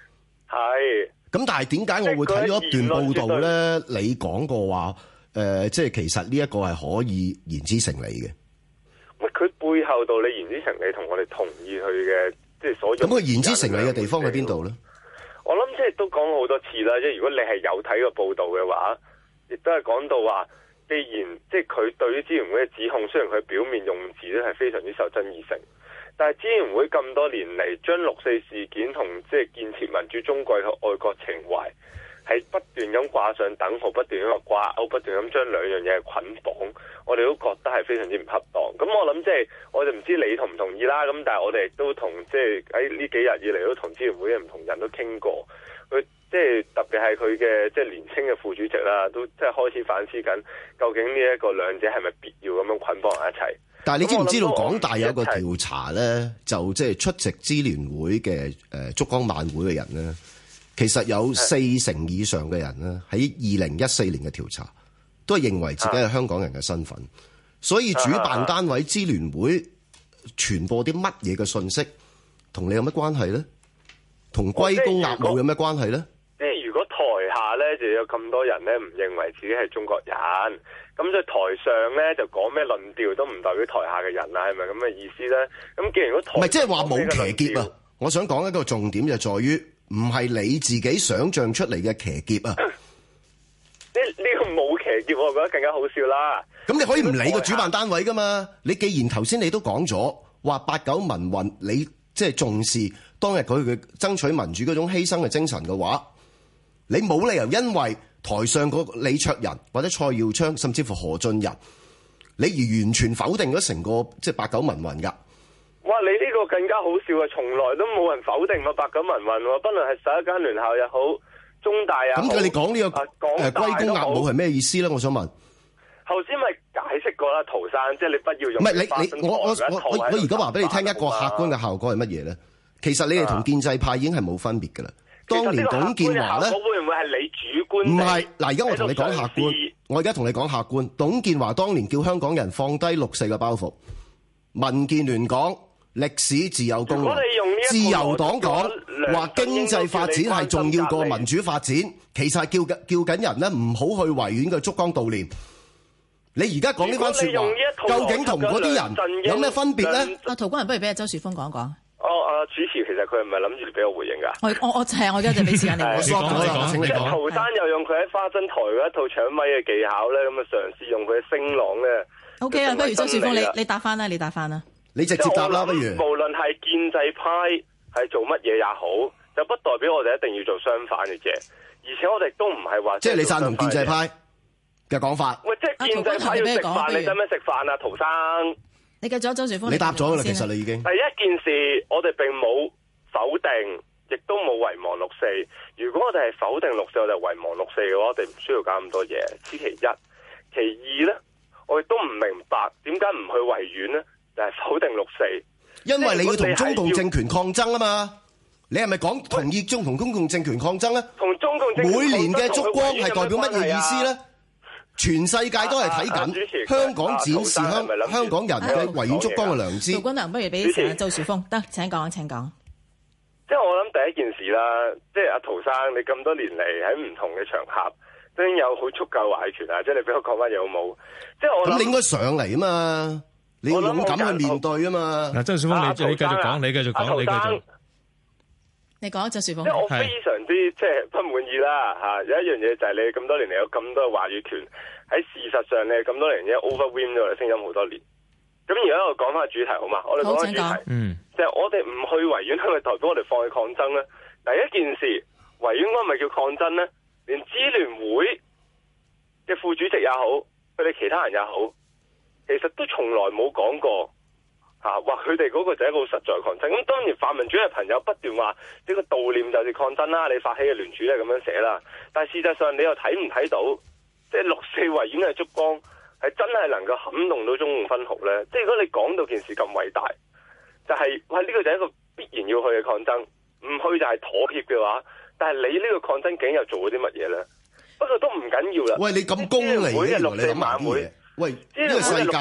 係。
咁但係點解我會睇咗一段報道咧？你講過話誒、呃，即係其實呢一個係可以言之成理嘅。
喂，佢背後道理言之成理，同我哋同意佢嘅即係所有。咁佢
言之成理嘅地方喺邊度咧？
我諗即係都講過好多次啦，即係如果你係有睇過報道嘅話，亦都係講到話，既然即係佢對於支聯會嘅指控，雖然佢表面用字咧係非常之受爭議性。但係支聯會咁多年嚟，將六四事件同即係建設民主中國嘅愛國情懷係不斷咁掛上等號，不斷咁掛鈎，不斷咁將兩樣嘢捆綁，我哋都覺得係非常之唔恰當。咁我諗即係我哋唔知你同唔同意啦。咁但係我哋亦都同即係喺呢幾日以嚟都同支聯會嘅唔同人都傾過，佢即係特別係佢嘅即係年輕嘅副主席啦，都即係開始反思緊究竟呢一個兩者係咪必要咁樣捆綁埋一齊。
但係你知唔知道港大有一個調查咧，就即係出席支聯會嘅誒燭光晚會嘅人咧，其實有四成以上嘅人咧喺二零一四年嘅調查都係認為自己係香港人嘅身份，所以主辦單位支聯會傳播啲乜嘢嘅信息，同你有乜關係咧？同龜公鴨母有咩關係咧？
即係如果台下咧就有咁多人咧唔認為自己係中國人，咁所以台上咧就講咩論調都唔代表台下嘅人啦，係咪咁嘅意思咧？咁既然如果台唔係即係話冇騎劫啊！我想講一個重點就在於，唔係你自己想像出嚟嘅騎劫啊！ 呢呢、呢個冇騎劫，我覺得更加好笑啦。
咁你可以唔理個主辦單位噶嘛？你既然頭先你都講咗話八九民運，你即係重視當日佢嘅爭取民主嗰種犧牲嘅精神嘅話，你冇理由因為台上個李卓人或者蔡耀昌甚至乎何俊仁，你而完全否定咗成個即係八九民運㗎。
哇！你呢個更加好笑啊！從來都冇人否定過八九民運喎，不論係十一間聯校又好，中大又好。咁佢哋講呢個誒龜公鴨母係咩意思咧？我想問。頭先咪解釋過啦，陶生，即係你不要用。唔係你你我我我我我而家話俾你聽一個客觀嘅效果係乜嘢咧？其實你哋同建制派已經係冇分別㗎啦。當年董建華咧，會唔會係你主觀？唔係嗱，而家我同你講客觀，我而家同你講客觀。董建華當年叫香港人放低六四嘅包袱，民建聯講歷史自有公論，自由黨講話經濟發展係重要過民主發展，其實係叫緊叫緊人咧唔好去維園嘅燭光悼念。你而家講呢番説話，究竟同嗰啲人有咩分別咧？
啊，陶君人不如俾阿周樹峰講一講。
哦，啊主持，其實佢係唔係諗住俾我回應㗎？
我我我係我而家就俾時間你。
我
講你講，請你講。
陶生又用佢喺花生台嗰一套搶咪嘅技巧咧，咁啊嘗試用佢嘅聲浪咧。
O K 啊，不如周樹峰你你答翻啦，你答翻啦。
你直接答啦，不如。
無論係建制派係做乜嘢也好，就不代表我哋一定要做相反嘅嘢。而且我哋都唔係話。即係你贊同建制派嘅講法。喂，即係建制派要食飯，你使唔使食飯啊，陶生？
你繼續，周樹峰。
你答咗啦，其實你已經。
第一件事，我哋並冇否定，亦都冇遺忘六四。如果我哋係否定六四，我哋遺忘六四嘅話，我哋唔需要搞咁多嘢。此其一。其二咧，我亦都唔明白點解唔去維園咧，就係否定六四。
因為你要同中共政權抗爭啊嘛。你係咪講同意中同中共政權抗爭咧？
同中共政權抗爭。
每年嘅燭光係代表乜嘢意思咧？全世界都係睇緊香港展示香香港人嘅維園燭光嘅良知。
陶君能不如俾時間周樹峰，得請講請講。
即係我諗第一件事啦，即係阿陶生，你咁多年嚟喺唔同嘅場合都已經有好足夠話語權啊！即係你俾我講翻嘢好冇？即係我諗你應該上嚟啊嘛，你要勇敢去面對啊嘛。嗱，
周樹峰，你你繼續講，你繼續講，你繼續。
你講周樹峰。
即係我非常之即係不滿意啦嚇！有一樣嘢就係你咁多年嚟有咁多嘅話語權，喺事實上你咁多年已經 overwhelm 咗我哋聲音好多年。咁而家我講翻個主題好嘛？我哋講翻主題，嗯，就係我哋唔去維園，係咪代表我哋放棄抗爭咧？第一件事，維園嗰個咪叫抗爭咧？連支聯會嘅副主席也好，佢哋其他人也好，其實都從來冇講過。嚇！話佢哋嗰個就係一個好實在抗爭。咁當然泛民主嘅朋友不斷話呢個悼念就是抗爭啦，你發起嘅聯署咧咁樣寫啦。但係事實上你又睇唔睇到，即係六四維園嘅燭光係真係能夠撼動到中共分毫咧？即係如果你講到件事咁偉大，就係喂呢個就係一個必然要去嘅抗爭，唔去就係妥協嘅話，但係你呢個抗爭竟又做咗啲乜嘢咧？不過都唔緊要啦。
喂，你咁功利嘅，原來你諗埋啲嘢。喂，呢個世界，我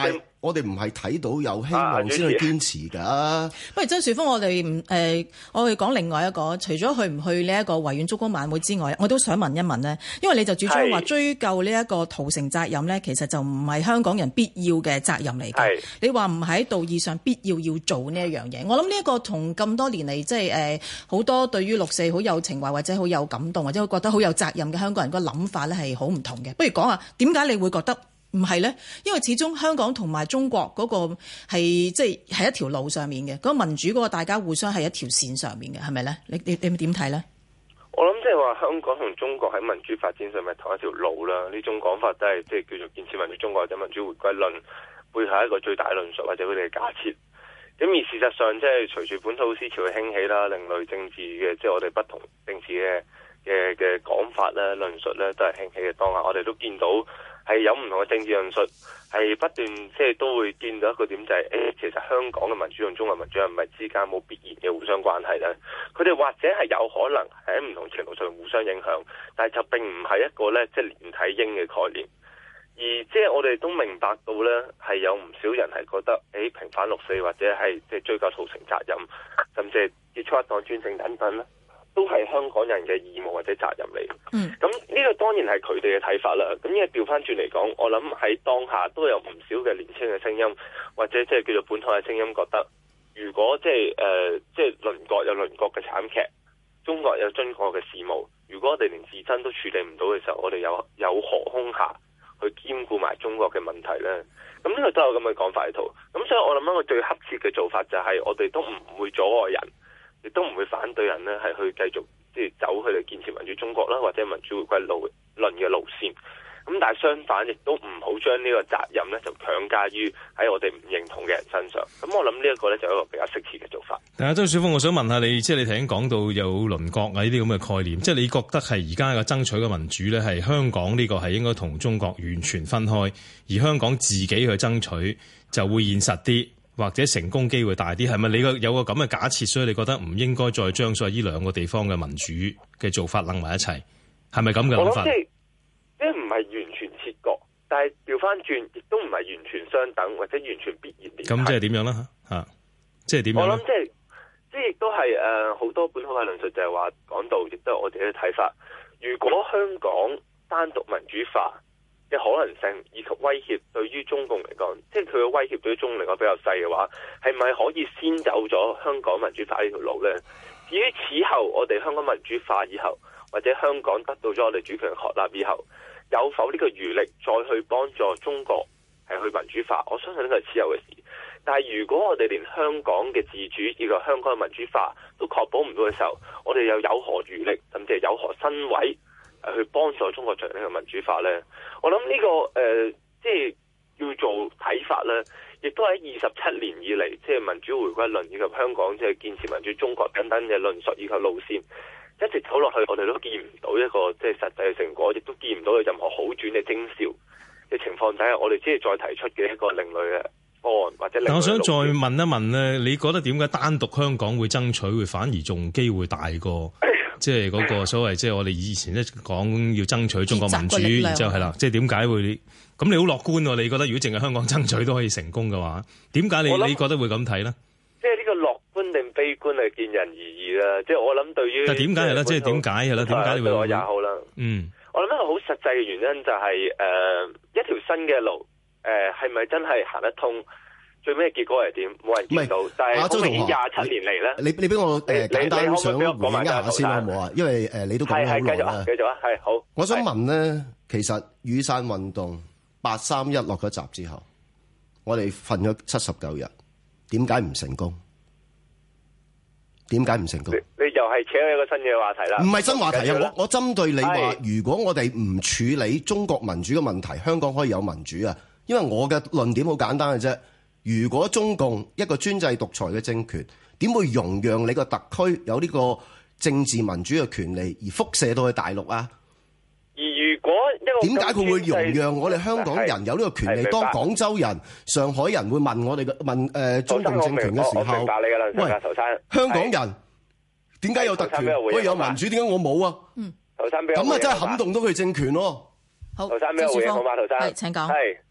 我哋唔係睇到有希望先去堅持㗎。啊、
不如周樹峰，我哋唔誒，我哋講另外一個，除咗去唔去呢一個維園燭光晚會之外，我都想問一問呢，因為你就主張話追究呢一個屠城責任呢，其實就唔係香港人必要嘅責任嚟嘅。你話唔喺道義上必要要做呢一樣嘢，我諗呢一個同咁多年嚟即係誒好多對於六四好有情懷或者好有感動或者覺得好有責任嘅香港人個諗法咧係好唔同嘅。不如講下點解你會覺得唔係咧？因為始終香港同埋中國嗰個係即係係一條路上面嘅，嗰、嗰個民主嗰個大家互相係一條線上面嘅，係咪咧？你你你點睇咧？
我諗即係話香港同中國喺民主發展上面同一條路啦。呢種講法都係即係叫做建設民主中國或者民主回歸論背後一個最大論述或者佢哋嘅假設。咁而事實上即係隨住本土思潮嘅興起啦，另類政治嘅即係我哋不同政治嘅嘅嘅講法咧、論述咧都係興起嘅當下，我哋都見到係有唔同嘅政治論述係不斷即係都會見到一個點就係、是、誒、欸，其實香港嘅民主同中國民主係咪之間冇必然嘅互相關係咧？佢哋或者係有可能喺唔同程度上互相影響，但係就並唔係一個咧即係連體嬰嘅概念。而即係我哋都明白到咧，係有唔少人係覺得誒、欸、平反六四或者係即係追究屠城責任，甚至係結束一黨專政等等咧，都係香港人嘅義務或者責任嚟。嗯，咁呢個當然係佢哋嘅睇法啦。咁因為調翻轉嚟講，我諗喺當下都有唔少嘅年輕嘅聲音，或者即係叫做本土嘅聲音，覺得如果即係誒即係鄰國有鄰國嘅慘劇，中國有中國嘅事務，如果我哋連自身都處理唔到嘅時候，我哋有有何空暇去兼顧埋中國嘅問題呢？咁呢個都有咁嘅講法喺度。咁所以我諗一個最恰切嘅做法就係我哋都唔會阻礙人，亦都唔會反對人呢係去繼續即係走去嚟建設民主中國啦，或者民主回歸路論嘅路線。咁但係相反，亦都唔好將呢個責任呢就強加於喺我哋唔認同嘅人身上。咁我諗呢一個呢就係一個比較適切嘅做法。
但係周樹峰，我想問下你，即係你頭先講到有鄰國啊呢啲咁嘅概念，即係你覺得係而家嘅爭取嘅民主呢，係香港呢個係應該同中國完全分開，而香港自己去爭取就會現實啲，或者成功機會大啲，係咪你個有個咁嘅假設，所以你覺得唔應該再將所謂呢兩個地方嘅民主嘅做法擸埋一齊，係咪咁嘅諗法？
即係唔係完全切割，但係調翻轉，亦都唔係完全相等，或者完全必然連繫。
咁即係點樣啦？嚇、啊，即係點樣？我
諗即係即係亦都係誒好多本土嘅論述，就係話講到，亦都係我哋嘅睇法。如果香港單獨民主化嘅可能性以及威脅對於中共嚟講，即係佢嘅威脅對於中共嚟講比較細嘅話，係咪可以先走咗香港民主化呢條路呢？至於此後我哋香港民主化以後，或者香港得到咗我哋主權確立以後，有否呢個餘力再去幫助中國係去民主化？我相信呢個係此後嘅事。但係如果我哋連香港嘅自主以及香港嘅民主化都確保唔到嘅時候，我哋又有何餘力，甚至係有何身位去幫助中國進行呢個民主化呢？我諗呢、這個誒、呃，即係要做睇法呢，亦都喺二十七年以嚟，即係民主回歸論以及香港即係建設民主中國等等嘅論述以及路線。一直走落去，我哋都見唔到一個即係實際嘅成果，亦都見唔到有任何好轉嘅徵兆嘅情況底下，我哋只係再提出嘅一個另類嘅方案或者另類嘅路線。但我想再問一問咧，你覺得點解單獨香港會爭取會反而仲機會大過即係嗰個所謂即係我哋以前咧講要爭取中國民主，然之後係啦，即係點解會咁？你好樂觀喎？你覺得如果淨係香港爭取都可以成功嘅話，點解你你覺得會咁睇咧？即係呢個樂觀定悲觀係見人而異啦。即係我諗對於，但係點解係咧？即係點解係咧？點解你會？對我也好啦。嗯，我諗一個好實際嘅原因就係、是、誒、呃、一條新嘅路誒係咪真係行得通？最尾結果係點？冇人見到。但係好明顯廿七年嚟咧，你你俾我誒簡單想回應一下先好唔好啊？因為誒你都講咗好耐啦。繼續啊，係好。我想問咧，其實雨傘運動八三一落咗閘之後，我哋瞓咗七十九日。點解唔成功？點解唔成功？你，你又係扯一個新嘅話題啦。唔係新話題啊！我我針對你話，如果我哋唔處理中國民主嘅問題，香港可以有民主啊？因為我嘅論點好簡單嘅啫。如果中共一個專制獨裁嘅政權，點會容讓你個特區有呢個政治民主嘅權利而輻射到去大陸啊？而如果一個點解佢會容讓我哋香港人有呢個權利？當廣州人、上海人會問我哋嘅問誒、呃、中共政權嘅時候，喂，香港人點解有特權？可以有民主，點解我冇啊？嗯，咁啊真係撼動到佢政權咯。好，周樹峰，係請講。係，即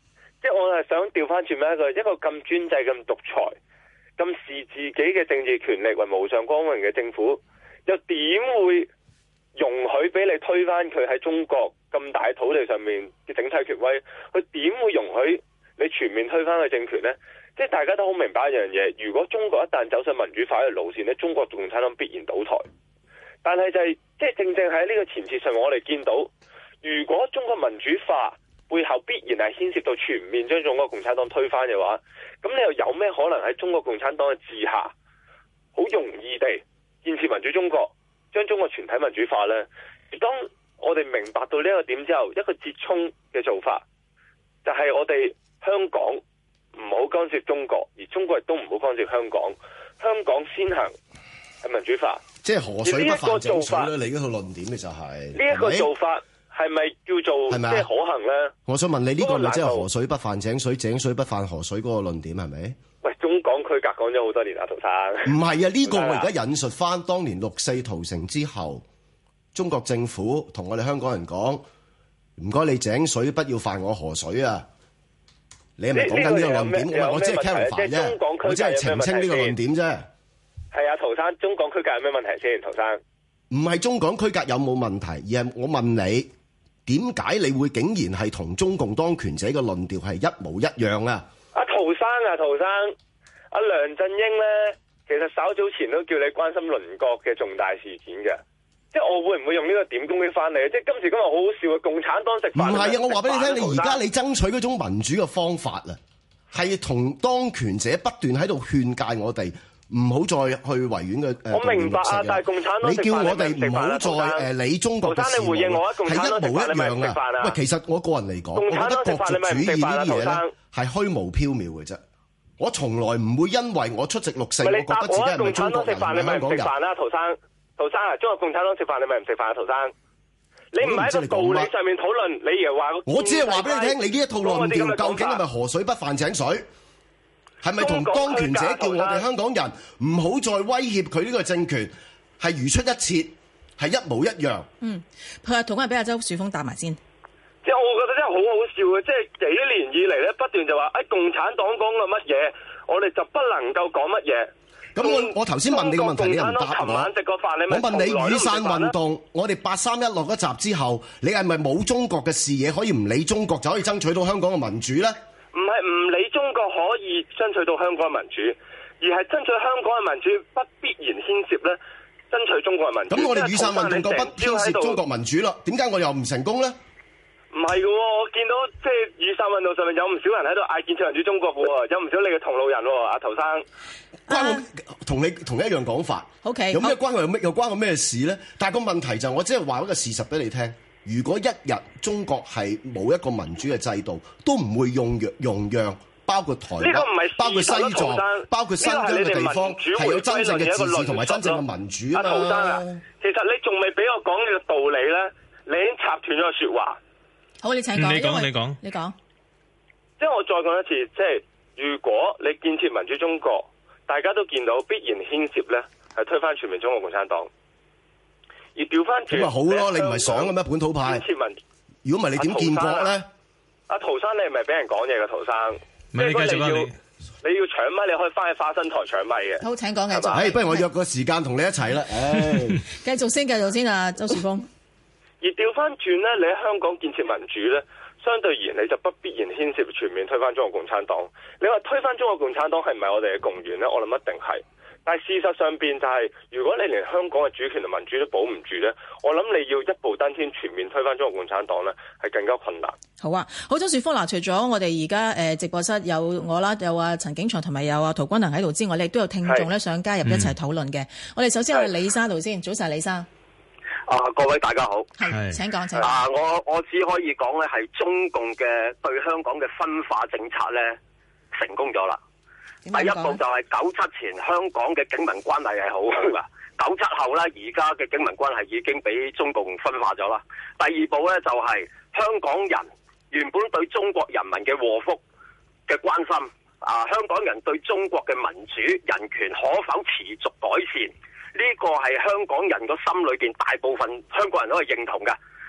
即係我係想調翻轉咩一個一個咁專制、咁獨裁、咁視自己嘅政治權力為無上光榮嘅政府，又點會容許俾你推翻佢喺中國咁大土地上面嘅整體權威？佢點會容許你全面推翻佢政權呢？即係大家都好明白一樣嘢，如果中國一旦走上民主化嘅路線呢，中國共產黨必然倒台。但係就係即係正正喺呢個前設上，我哋見到如果中國民主化背後必然係牽涉到全面將中國共產黨推翻嘅話，咁你又有咩可能喺中國共產黨嘅治下好容易地建設民主中國，將中國全體民主化呢？當我哋明白到呢一個點之後，一個折衷嘅做法就係我哋香港唔好干涉中國，而中國亦都唔好干涉香港。香港先行係民主化，
即係河水不犯井水啦。你嗰套論點嘅就係
呢一個做法係咪叫做即係可行咧？
我想問你呢個咪即係河水不犯井水，井水不犯河水嗰個論點係咪？
喂，中港區隔講咗好多年啦，陶生。
唔係啊，呢個我而家引述翻當年六四屠城之後，中國政府同我哋香港人講：唔該你井水不要犯我河水啊！你係咪講緊呢個論點？唔係，我只係 clarify 啫，我只係澄清呢個論點啫。
係啊，陶生，中港區隔有咩問題先？陶生，
唔係中港區隔有冇問題，而係我問你點解你會竟然係同中共當權者嘅論調係一模一樣啊？
阿陶生啊，陶生，阿梁振英咧，其實稍早前都叫你關心鄰國嘅重大事件嘅。即係我會唔會用呢個點攻擊翻你？即係今時今日好好笑啊！共產黨食飯唔係啊！我話俾你聽，你而家你爭取嗰種民主嘅方法啊，係同當權者不斷喺度勸誡我哋唔好再去維園嘅誒。我明白啊，但係共產黨你叫我哋唔好再誒理中國嘅事務，係一模一樣啊！喂，其實我個人嚟講，我覺得國族主義呢啲嘢咧係虛無縹緲嘅啫。我從來唔會因為我出席六四，我覺得自己係咪中國人、係香港人。陶生。陶生啊，中國共產黨食飯，你咪唔食飯啊？陶生，你唔係喺個道理上面討論，你而話我只係話俾你聽，你呢一套論調究竟係咪河水不犯井水？係咪同當權者叫我哋香港人唔好再威脅佢呢個政權，係如出一轍，係一模一樣？
嗯，佢話同埋俾阿周樹峰答埋先。
即係我覺得真係好好笑嘅，即係幾年以嚟咧，不斷就話誒、哎、共產黨講嘅乜嘢，我哋就不能夠講乜嘢。
咁我我頭先問你個問題，你又唔答我。我問你雨傘運動，我哋八三一落一閘之後，你係咪冇中國嘅視野，可以唔理中國就可以爭取到香港嘅民主咧？
唔係唔理中國可以爭取到香港嘅民主，而係爭取香港嘅民主不必然牽涉咧爭取中國嘅民主。咁我哋雨傘運動就不牽涉中國民主啦，點解我又唔成功咧？ 唔係嘅喎，我見到即係雨傘運動上面有唔少人喺度嗌建設民主中國嘅喎，有唔少你嘅同路人喎，阿陶生。
關我同你同一樣講法。
OK，
有咩關我有咩又關我咩事咧？但係個問題就係我只係話一個事實俾你聽。如果一日中國係冇一個民主嘅制度，都唔會用讓容讓，包括台灣、包括西藏、包括新疆嘅地方，係有真正嘅自治同埋真正嘅民主啊嘛。
阿陶生啊，其實你仲未俾我講呢個道理咧，你已經插斷咗個説話。
好，你請講。
你講，你講，
你講。
即係我再講一次，即係如果你建設民主中國，大家都見到必然牽涉咧，係推翻全面中國共產黨。而調翻轉咁咪好咯？你唔係想嘅咩？本土派。建設民，如果唔係你點建國咧？阿陶生，你係咪俾人講嘢嘅陶生？
唔係你繼續啊！
你要搶咪？你可以翻去花生台搶咪嘅。
好，請講繼續。
誒，不如我約個時間同你一齊啦。誒，
繼續先，繼續先啊，周樹峰。
而調翻轉咧，你喺香港建設民主咧，相對而言你就不必然牽涉全面推翻中國共產黨。你話推翻中國共產黨係唔係我哋嘅共願咧？我諗一定係。但係事實上邊就係、是，如果你連香港嘅主權同民主都保唔住咧，我諗你要一步登天全面推翻中國共產黨咧，係更加困難。
好啊，好，周樹峰嗱，除咗我哋而家誒直播室有我啦，有啊陳景祥同埋有啊陶君行喺度之外，你亦都有聽眾咧想加入一齊討論嘅。嗯、我哋首先去李生度先，早晨李生。
啊，各位大家好。
係，請講，請講。
啊，我我只可以講咧，係中共嘅對香港嘅分化政策咧，成功咗啦。第一步就係九七前香港嘅警民關係係好噶，九七後咧而家嘅警民關係已經俾中共分化咗啦。第二步咧就係香港人原本對中國人民嘅禍福嘅關心，啊，香港人對中國嘅民主人權可否持續改善？呢個係香港人個心裏邊大部分香港人都係認同嘅。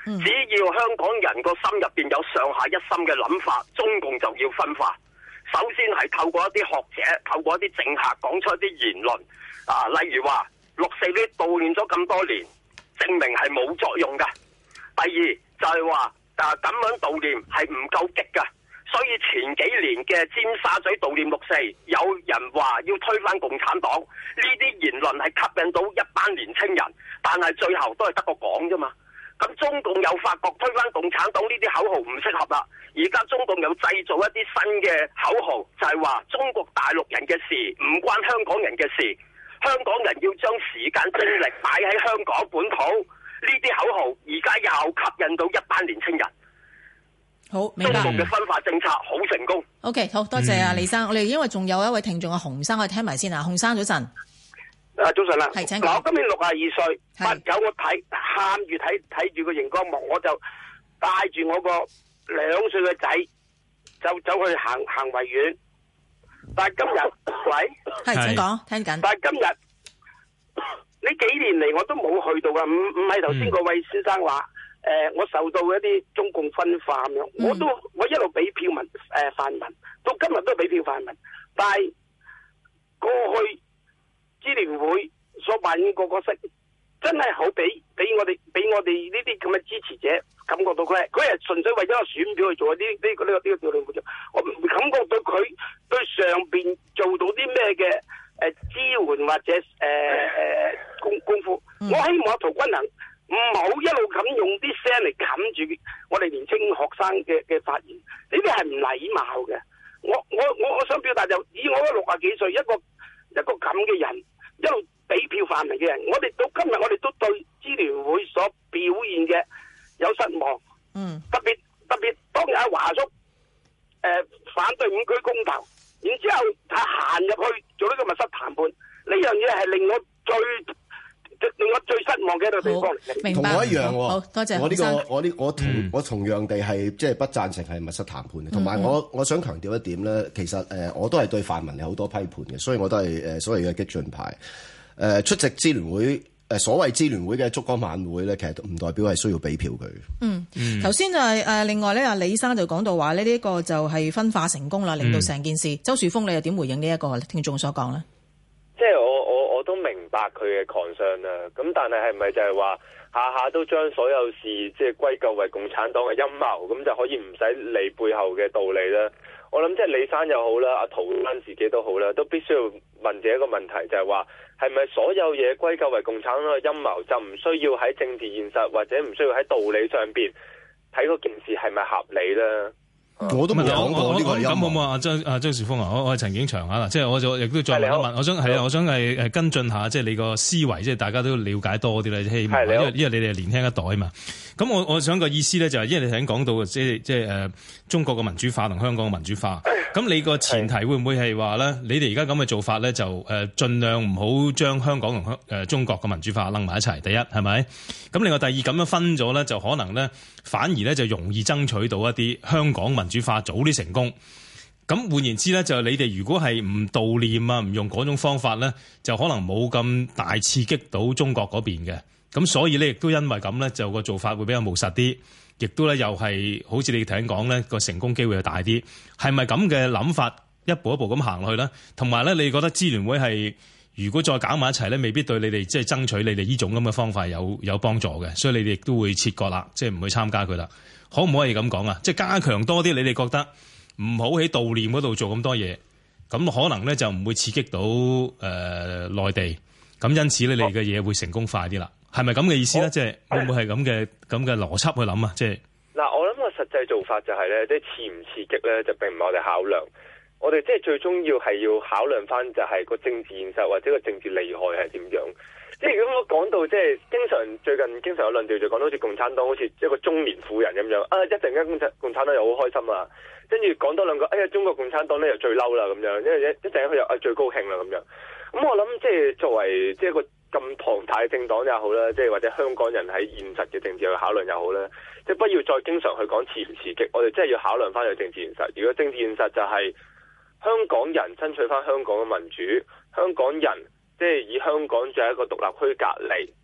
只要香港人個心入邊有上下一心嘅諗法，中共就要分化。首先係透過一啲學者，透過一啲政客講出一啲言論啊，例如話六四呢悼念咗咁多年，證明係冇作用㗎。第二就係話啊咁樣悼念係唔夠極㗎。所以前幾年嘅尖沙咀悼念六四，有人話要推翻共產黨，呢啲言論係吸引到一班年青人，但係最後都係得個講啫嘛。咁中共又發覺推翻共產黨呢啲口號唔適合啦，而家中共又製造一啲新嘅口號，就係話中國大陸人嘅事唔關香港人嘅事，香港人要將時間精力擺喺香港本土，呢啲口號而家又吸引到一班年青人。
好，明白。
中共嘅分化政策好成功。
OK， 好多謝啊，李生。嗯、我哋因為仲有一位聽眾啊，洪生，我哋聽埋先啊。洪生早晨。
啊，早晨啦。
係，請講。
嗱，我今年六十二歲，八九我睇喊住睇睇住個熒光幕，我就帶住我個兩歲嘅仔，就走去行行維園。但係今日，喂，
係請講，聽緊。
但係今日呢幾年嚟我都冇去到噶，唔唔係頭先嗰位先生話。嗯誒、呃，我受到一啲中共分化咁樣，我都我一路俾票民誒、呃、泛民，到今日都俾票泛民。但係過去支聯會所扮演個角色，真係好俾俾我哋俾我哋呢啲咁嘅支持者感覺到佢係佢係純粹為咗個選票去做呢呢個呢個呢個調動活動，我唔感覺到佢對上邊做到啲咩嘅誒支援或者誒誒、呃、功功夫。我希望陶君行唔好一路咁用啲聲嚟冚住我哋年輕學生嘅嘅發言，呢啲係唔禮貌嘅。我我我我想表達就以我嗰六十幾歲一個一個咁嘅人，一路俾票泛民嘅人，我哋到今日我哋都對支聯會所表現嘅有失望。嗯，特別特別當日阿華叔誒、呃、反對五區公投，然之後他行入去做呢個密室談判，呢樣嘢係令我最。令我最失望嘅一個地方嚟，
同我一樣喎。
好多謝
我呢、這個，我呢，我同、嗯、我同樣地係即係不贊成係密室談判嘅。同埋我、嗯、我想強調一點咧，其實誒、呃、我都係對泛民有好多批判嘅，所以我都係誒、呃、所謂嘅激進派。誒、呃、出席支聯會誒、呃、所謂支聯會嘅燭光晚會咧，其實唔代表係需要俾票佢。嗯，
頭先就係誒另外咧，阿李生就講到話呢，呢、這個就係分化成功啦，令到成件事。嗯、周樹峰，你又點回應呢一個聽眾所講咧？
即係我我我都明白佢嘅 concern 啦，咁但係係咪就係話下下都將所有事即係歸咎為共產黨嘅陰謀，咁就可以唔使理背後嘅道理咧？我諗即係李生又好啦，阿陶生自己都好啦，都必須要問自己一個問題，就係話係咪所有嘢歸咎為共產黨嘅陰謀，就唔需要喺政治現實或者唔需要喺道理上邊睇嗰件事係咪合理咧？
我都冇講過呢個
咁好唔好啊？周啊周樹峰啊，我我係陳景祥啊啦，即係我就亦都再問一問，我想係啊，我想係誒跟進下，即係你個思維，即係大家都了解多啲咧，希望因為因為你哋係年輕一代啊嘛。咁我我想個意思咧就係，因為你頭先講到即係即係誒中國嘅民主化同香港嘅民主化，咁你個前提會唔會係話咧？你哋而家咁嘅做法咧，就誒盡量唔好將香港同香誒中國嘅民主化擸埋一齊。第一係咪？咁另外第二咁樣分咗咧，就可能咧反而咧就容易爭取到一啲香港民主化早啲成功。咁換言之咧，就你哋如果係唔悼念啊，唔用嗰種方法咧，就可能冇咁大刺激到中國嗰邊嘅。咁所以咧，亦都因為咁咧，就個做法會比較務實啲，亦都咧又係好似你頭先講咧，個成功機會就大啲。係咪咁嘅諗法一步一步咁行落去咧？同埋咧，你覺得支聯會係如果再搞埋一齊咧，未必對你哋即係爭取你哋呢種咁嘅方法有有幫助嘅，所以你哋亦都會切割啦，即係唔去參加佢啦。可唔可以咁講啊？即係加強多啲，你哋覺得唔好喺悼念嗰度做咁多嘢，咁可能咧就唔會刺激到誒、呃、內地，咁因此咧你哋嘅嘢會成功快啲啦。係咪咁嘅意思咧？即係會唔會係咁嘅咁嘅邏輯去諗啊？即係
嗱，我諗個實際做法就係咧，即係刺唔刺激咧，就並唔係我哋考量。我哋即係最終要係要考量翻，就係個政治現實或者個政治利害係點樣。即係如果我講到即係經常最近經常有論調，就講到好似共產黨好似一個中年婦人咁樣啊，一陣間共產共產黨又好開心啊，跟住講多兩個，哎呀中國共產黨咧又最嬲啦咁樣，因為一一陣間佢又啊最高興啦咁樣。咁我諗即係作為即係一個咁龐大嘅政黨也好啦，即係或者香港人喺現實嘅政治去考量又好啦，即係不要再經常去講刺唔刺激，我哋真係要考量翻個政治現實。如果政治現實就係香港人爭取翻香港嘅民主，香港人即係以香港作為一個獨立區隔離，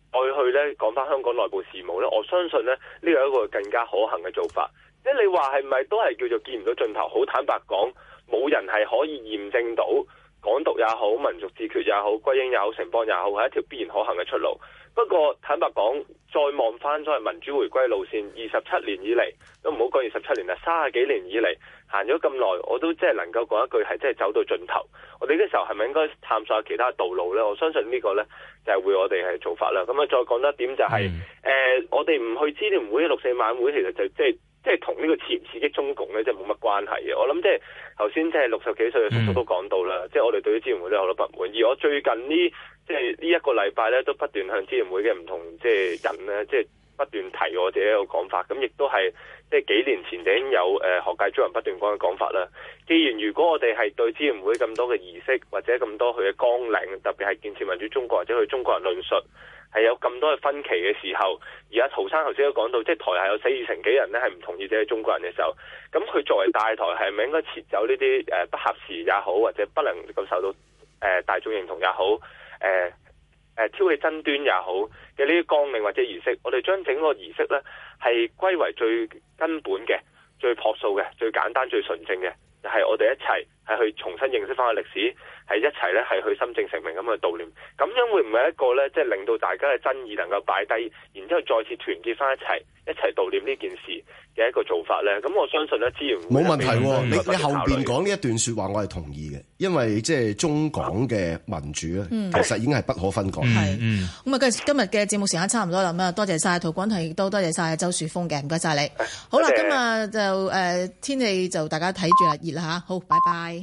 再去咧講翻香港內部事務咧，我相信咧呢個係一個更加可行嘅做法。即係你話係咪都係叫做見唔到盡頭？好坦白講，冇人係可以驗證到港獨也好、民族自決也好、歸英也好、城邦也好係一條必然可行嘅出路。不過坦白講，再望翻所謂民主回歸路線，二十七年以嚟都唔好講二十七年啦，三十幾年以嚟行咗咁耐，我都即係能夠講一句係真係走到盡頭。我哋呢時候係咪應該探索下其他道路呢？我相信呢個呢就係會我哋係做法啦。咁啊，再講多一點就係、是、誒、嗯呃，我哋唔去支聯會六四晚會，其實就即係即係同呢個刺唔刺激中共呢，即係冇乜關係嘅。我諗即係頭先即係六十幾歲嘅叔叔都講到啦，即係、嗯、我哋對於支聯會都有好多不滿。而我最近呢即係呢一個禮拜呢，都不斷向支聯會嘅唔同即係人呢，即係不斷提我自己一個講法。咁亦都係即係幾年前就已經有誒學界中人不斷講嘅講法啦。既然如果我哋係對支聯會咁多嘅儀式或者咁多佢嘅綱領，特別係建設民主中國或者佢中國人論述係有咁多嘅分歧嘅時候，而家陶生頭先都講到，即係台下有四成幾人呢係唔同意自己中國人嘅時候，咁佢作為大台係咪應該撤走呢啲誒不合時也好，或者不能夠受到誒、呃、大眾認同也好，誒、呃、誒、呃、挑起爭端也好嘅呢啲綱領或者儀式，我哋將整個儀式呢係歸為最根本嘅、最樸素嘅、最簡單、最純正嘅，就係、是、我哋一齊係去重新認識翻個歷史，係一齊咧係去心正成名咁去悼念。咁樣會唔會一個咧，即係令到大家嘅爭議能夠擺低，然之後再次團結翻一齊，一齊悼念呢件事嘅一個做法咧？咁我相信咧，資源
冇問題喎。你你後邊講呢一段説話，我係同意嘅，因為即係中港嘅民主咧，
嗯、
其實已經係不可分割。
係、嗯，咁啊，今日嘅節目時間差唔多啦，咁啊，多謝晒陶廣騰，亦都多謝晒周樹峰嘅，唔該晒你。好啦，今日就誒、呃、天氣就大家睇住啦，熱啦嚇，好，拜拜。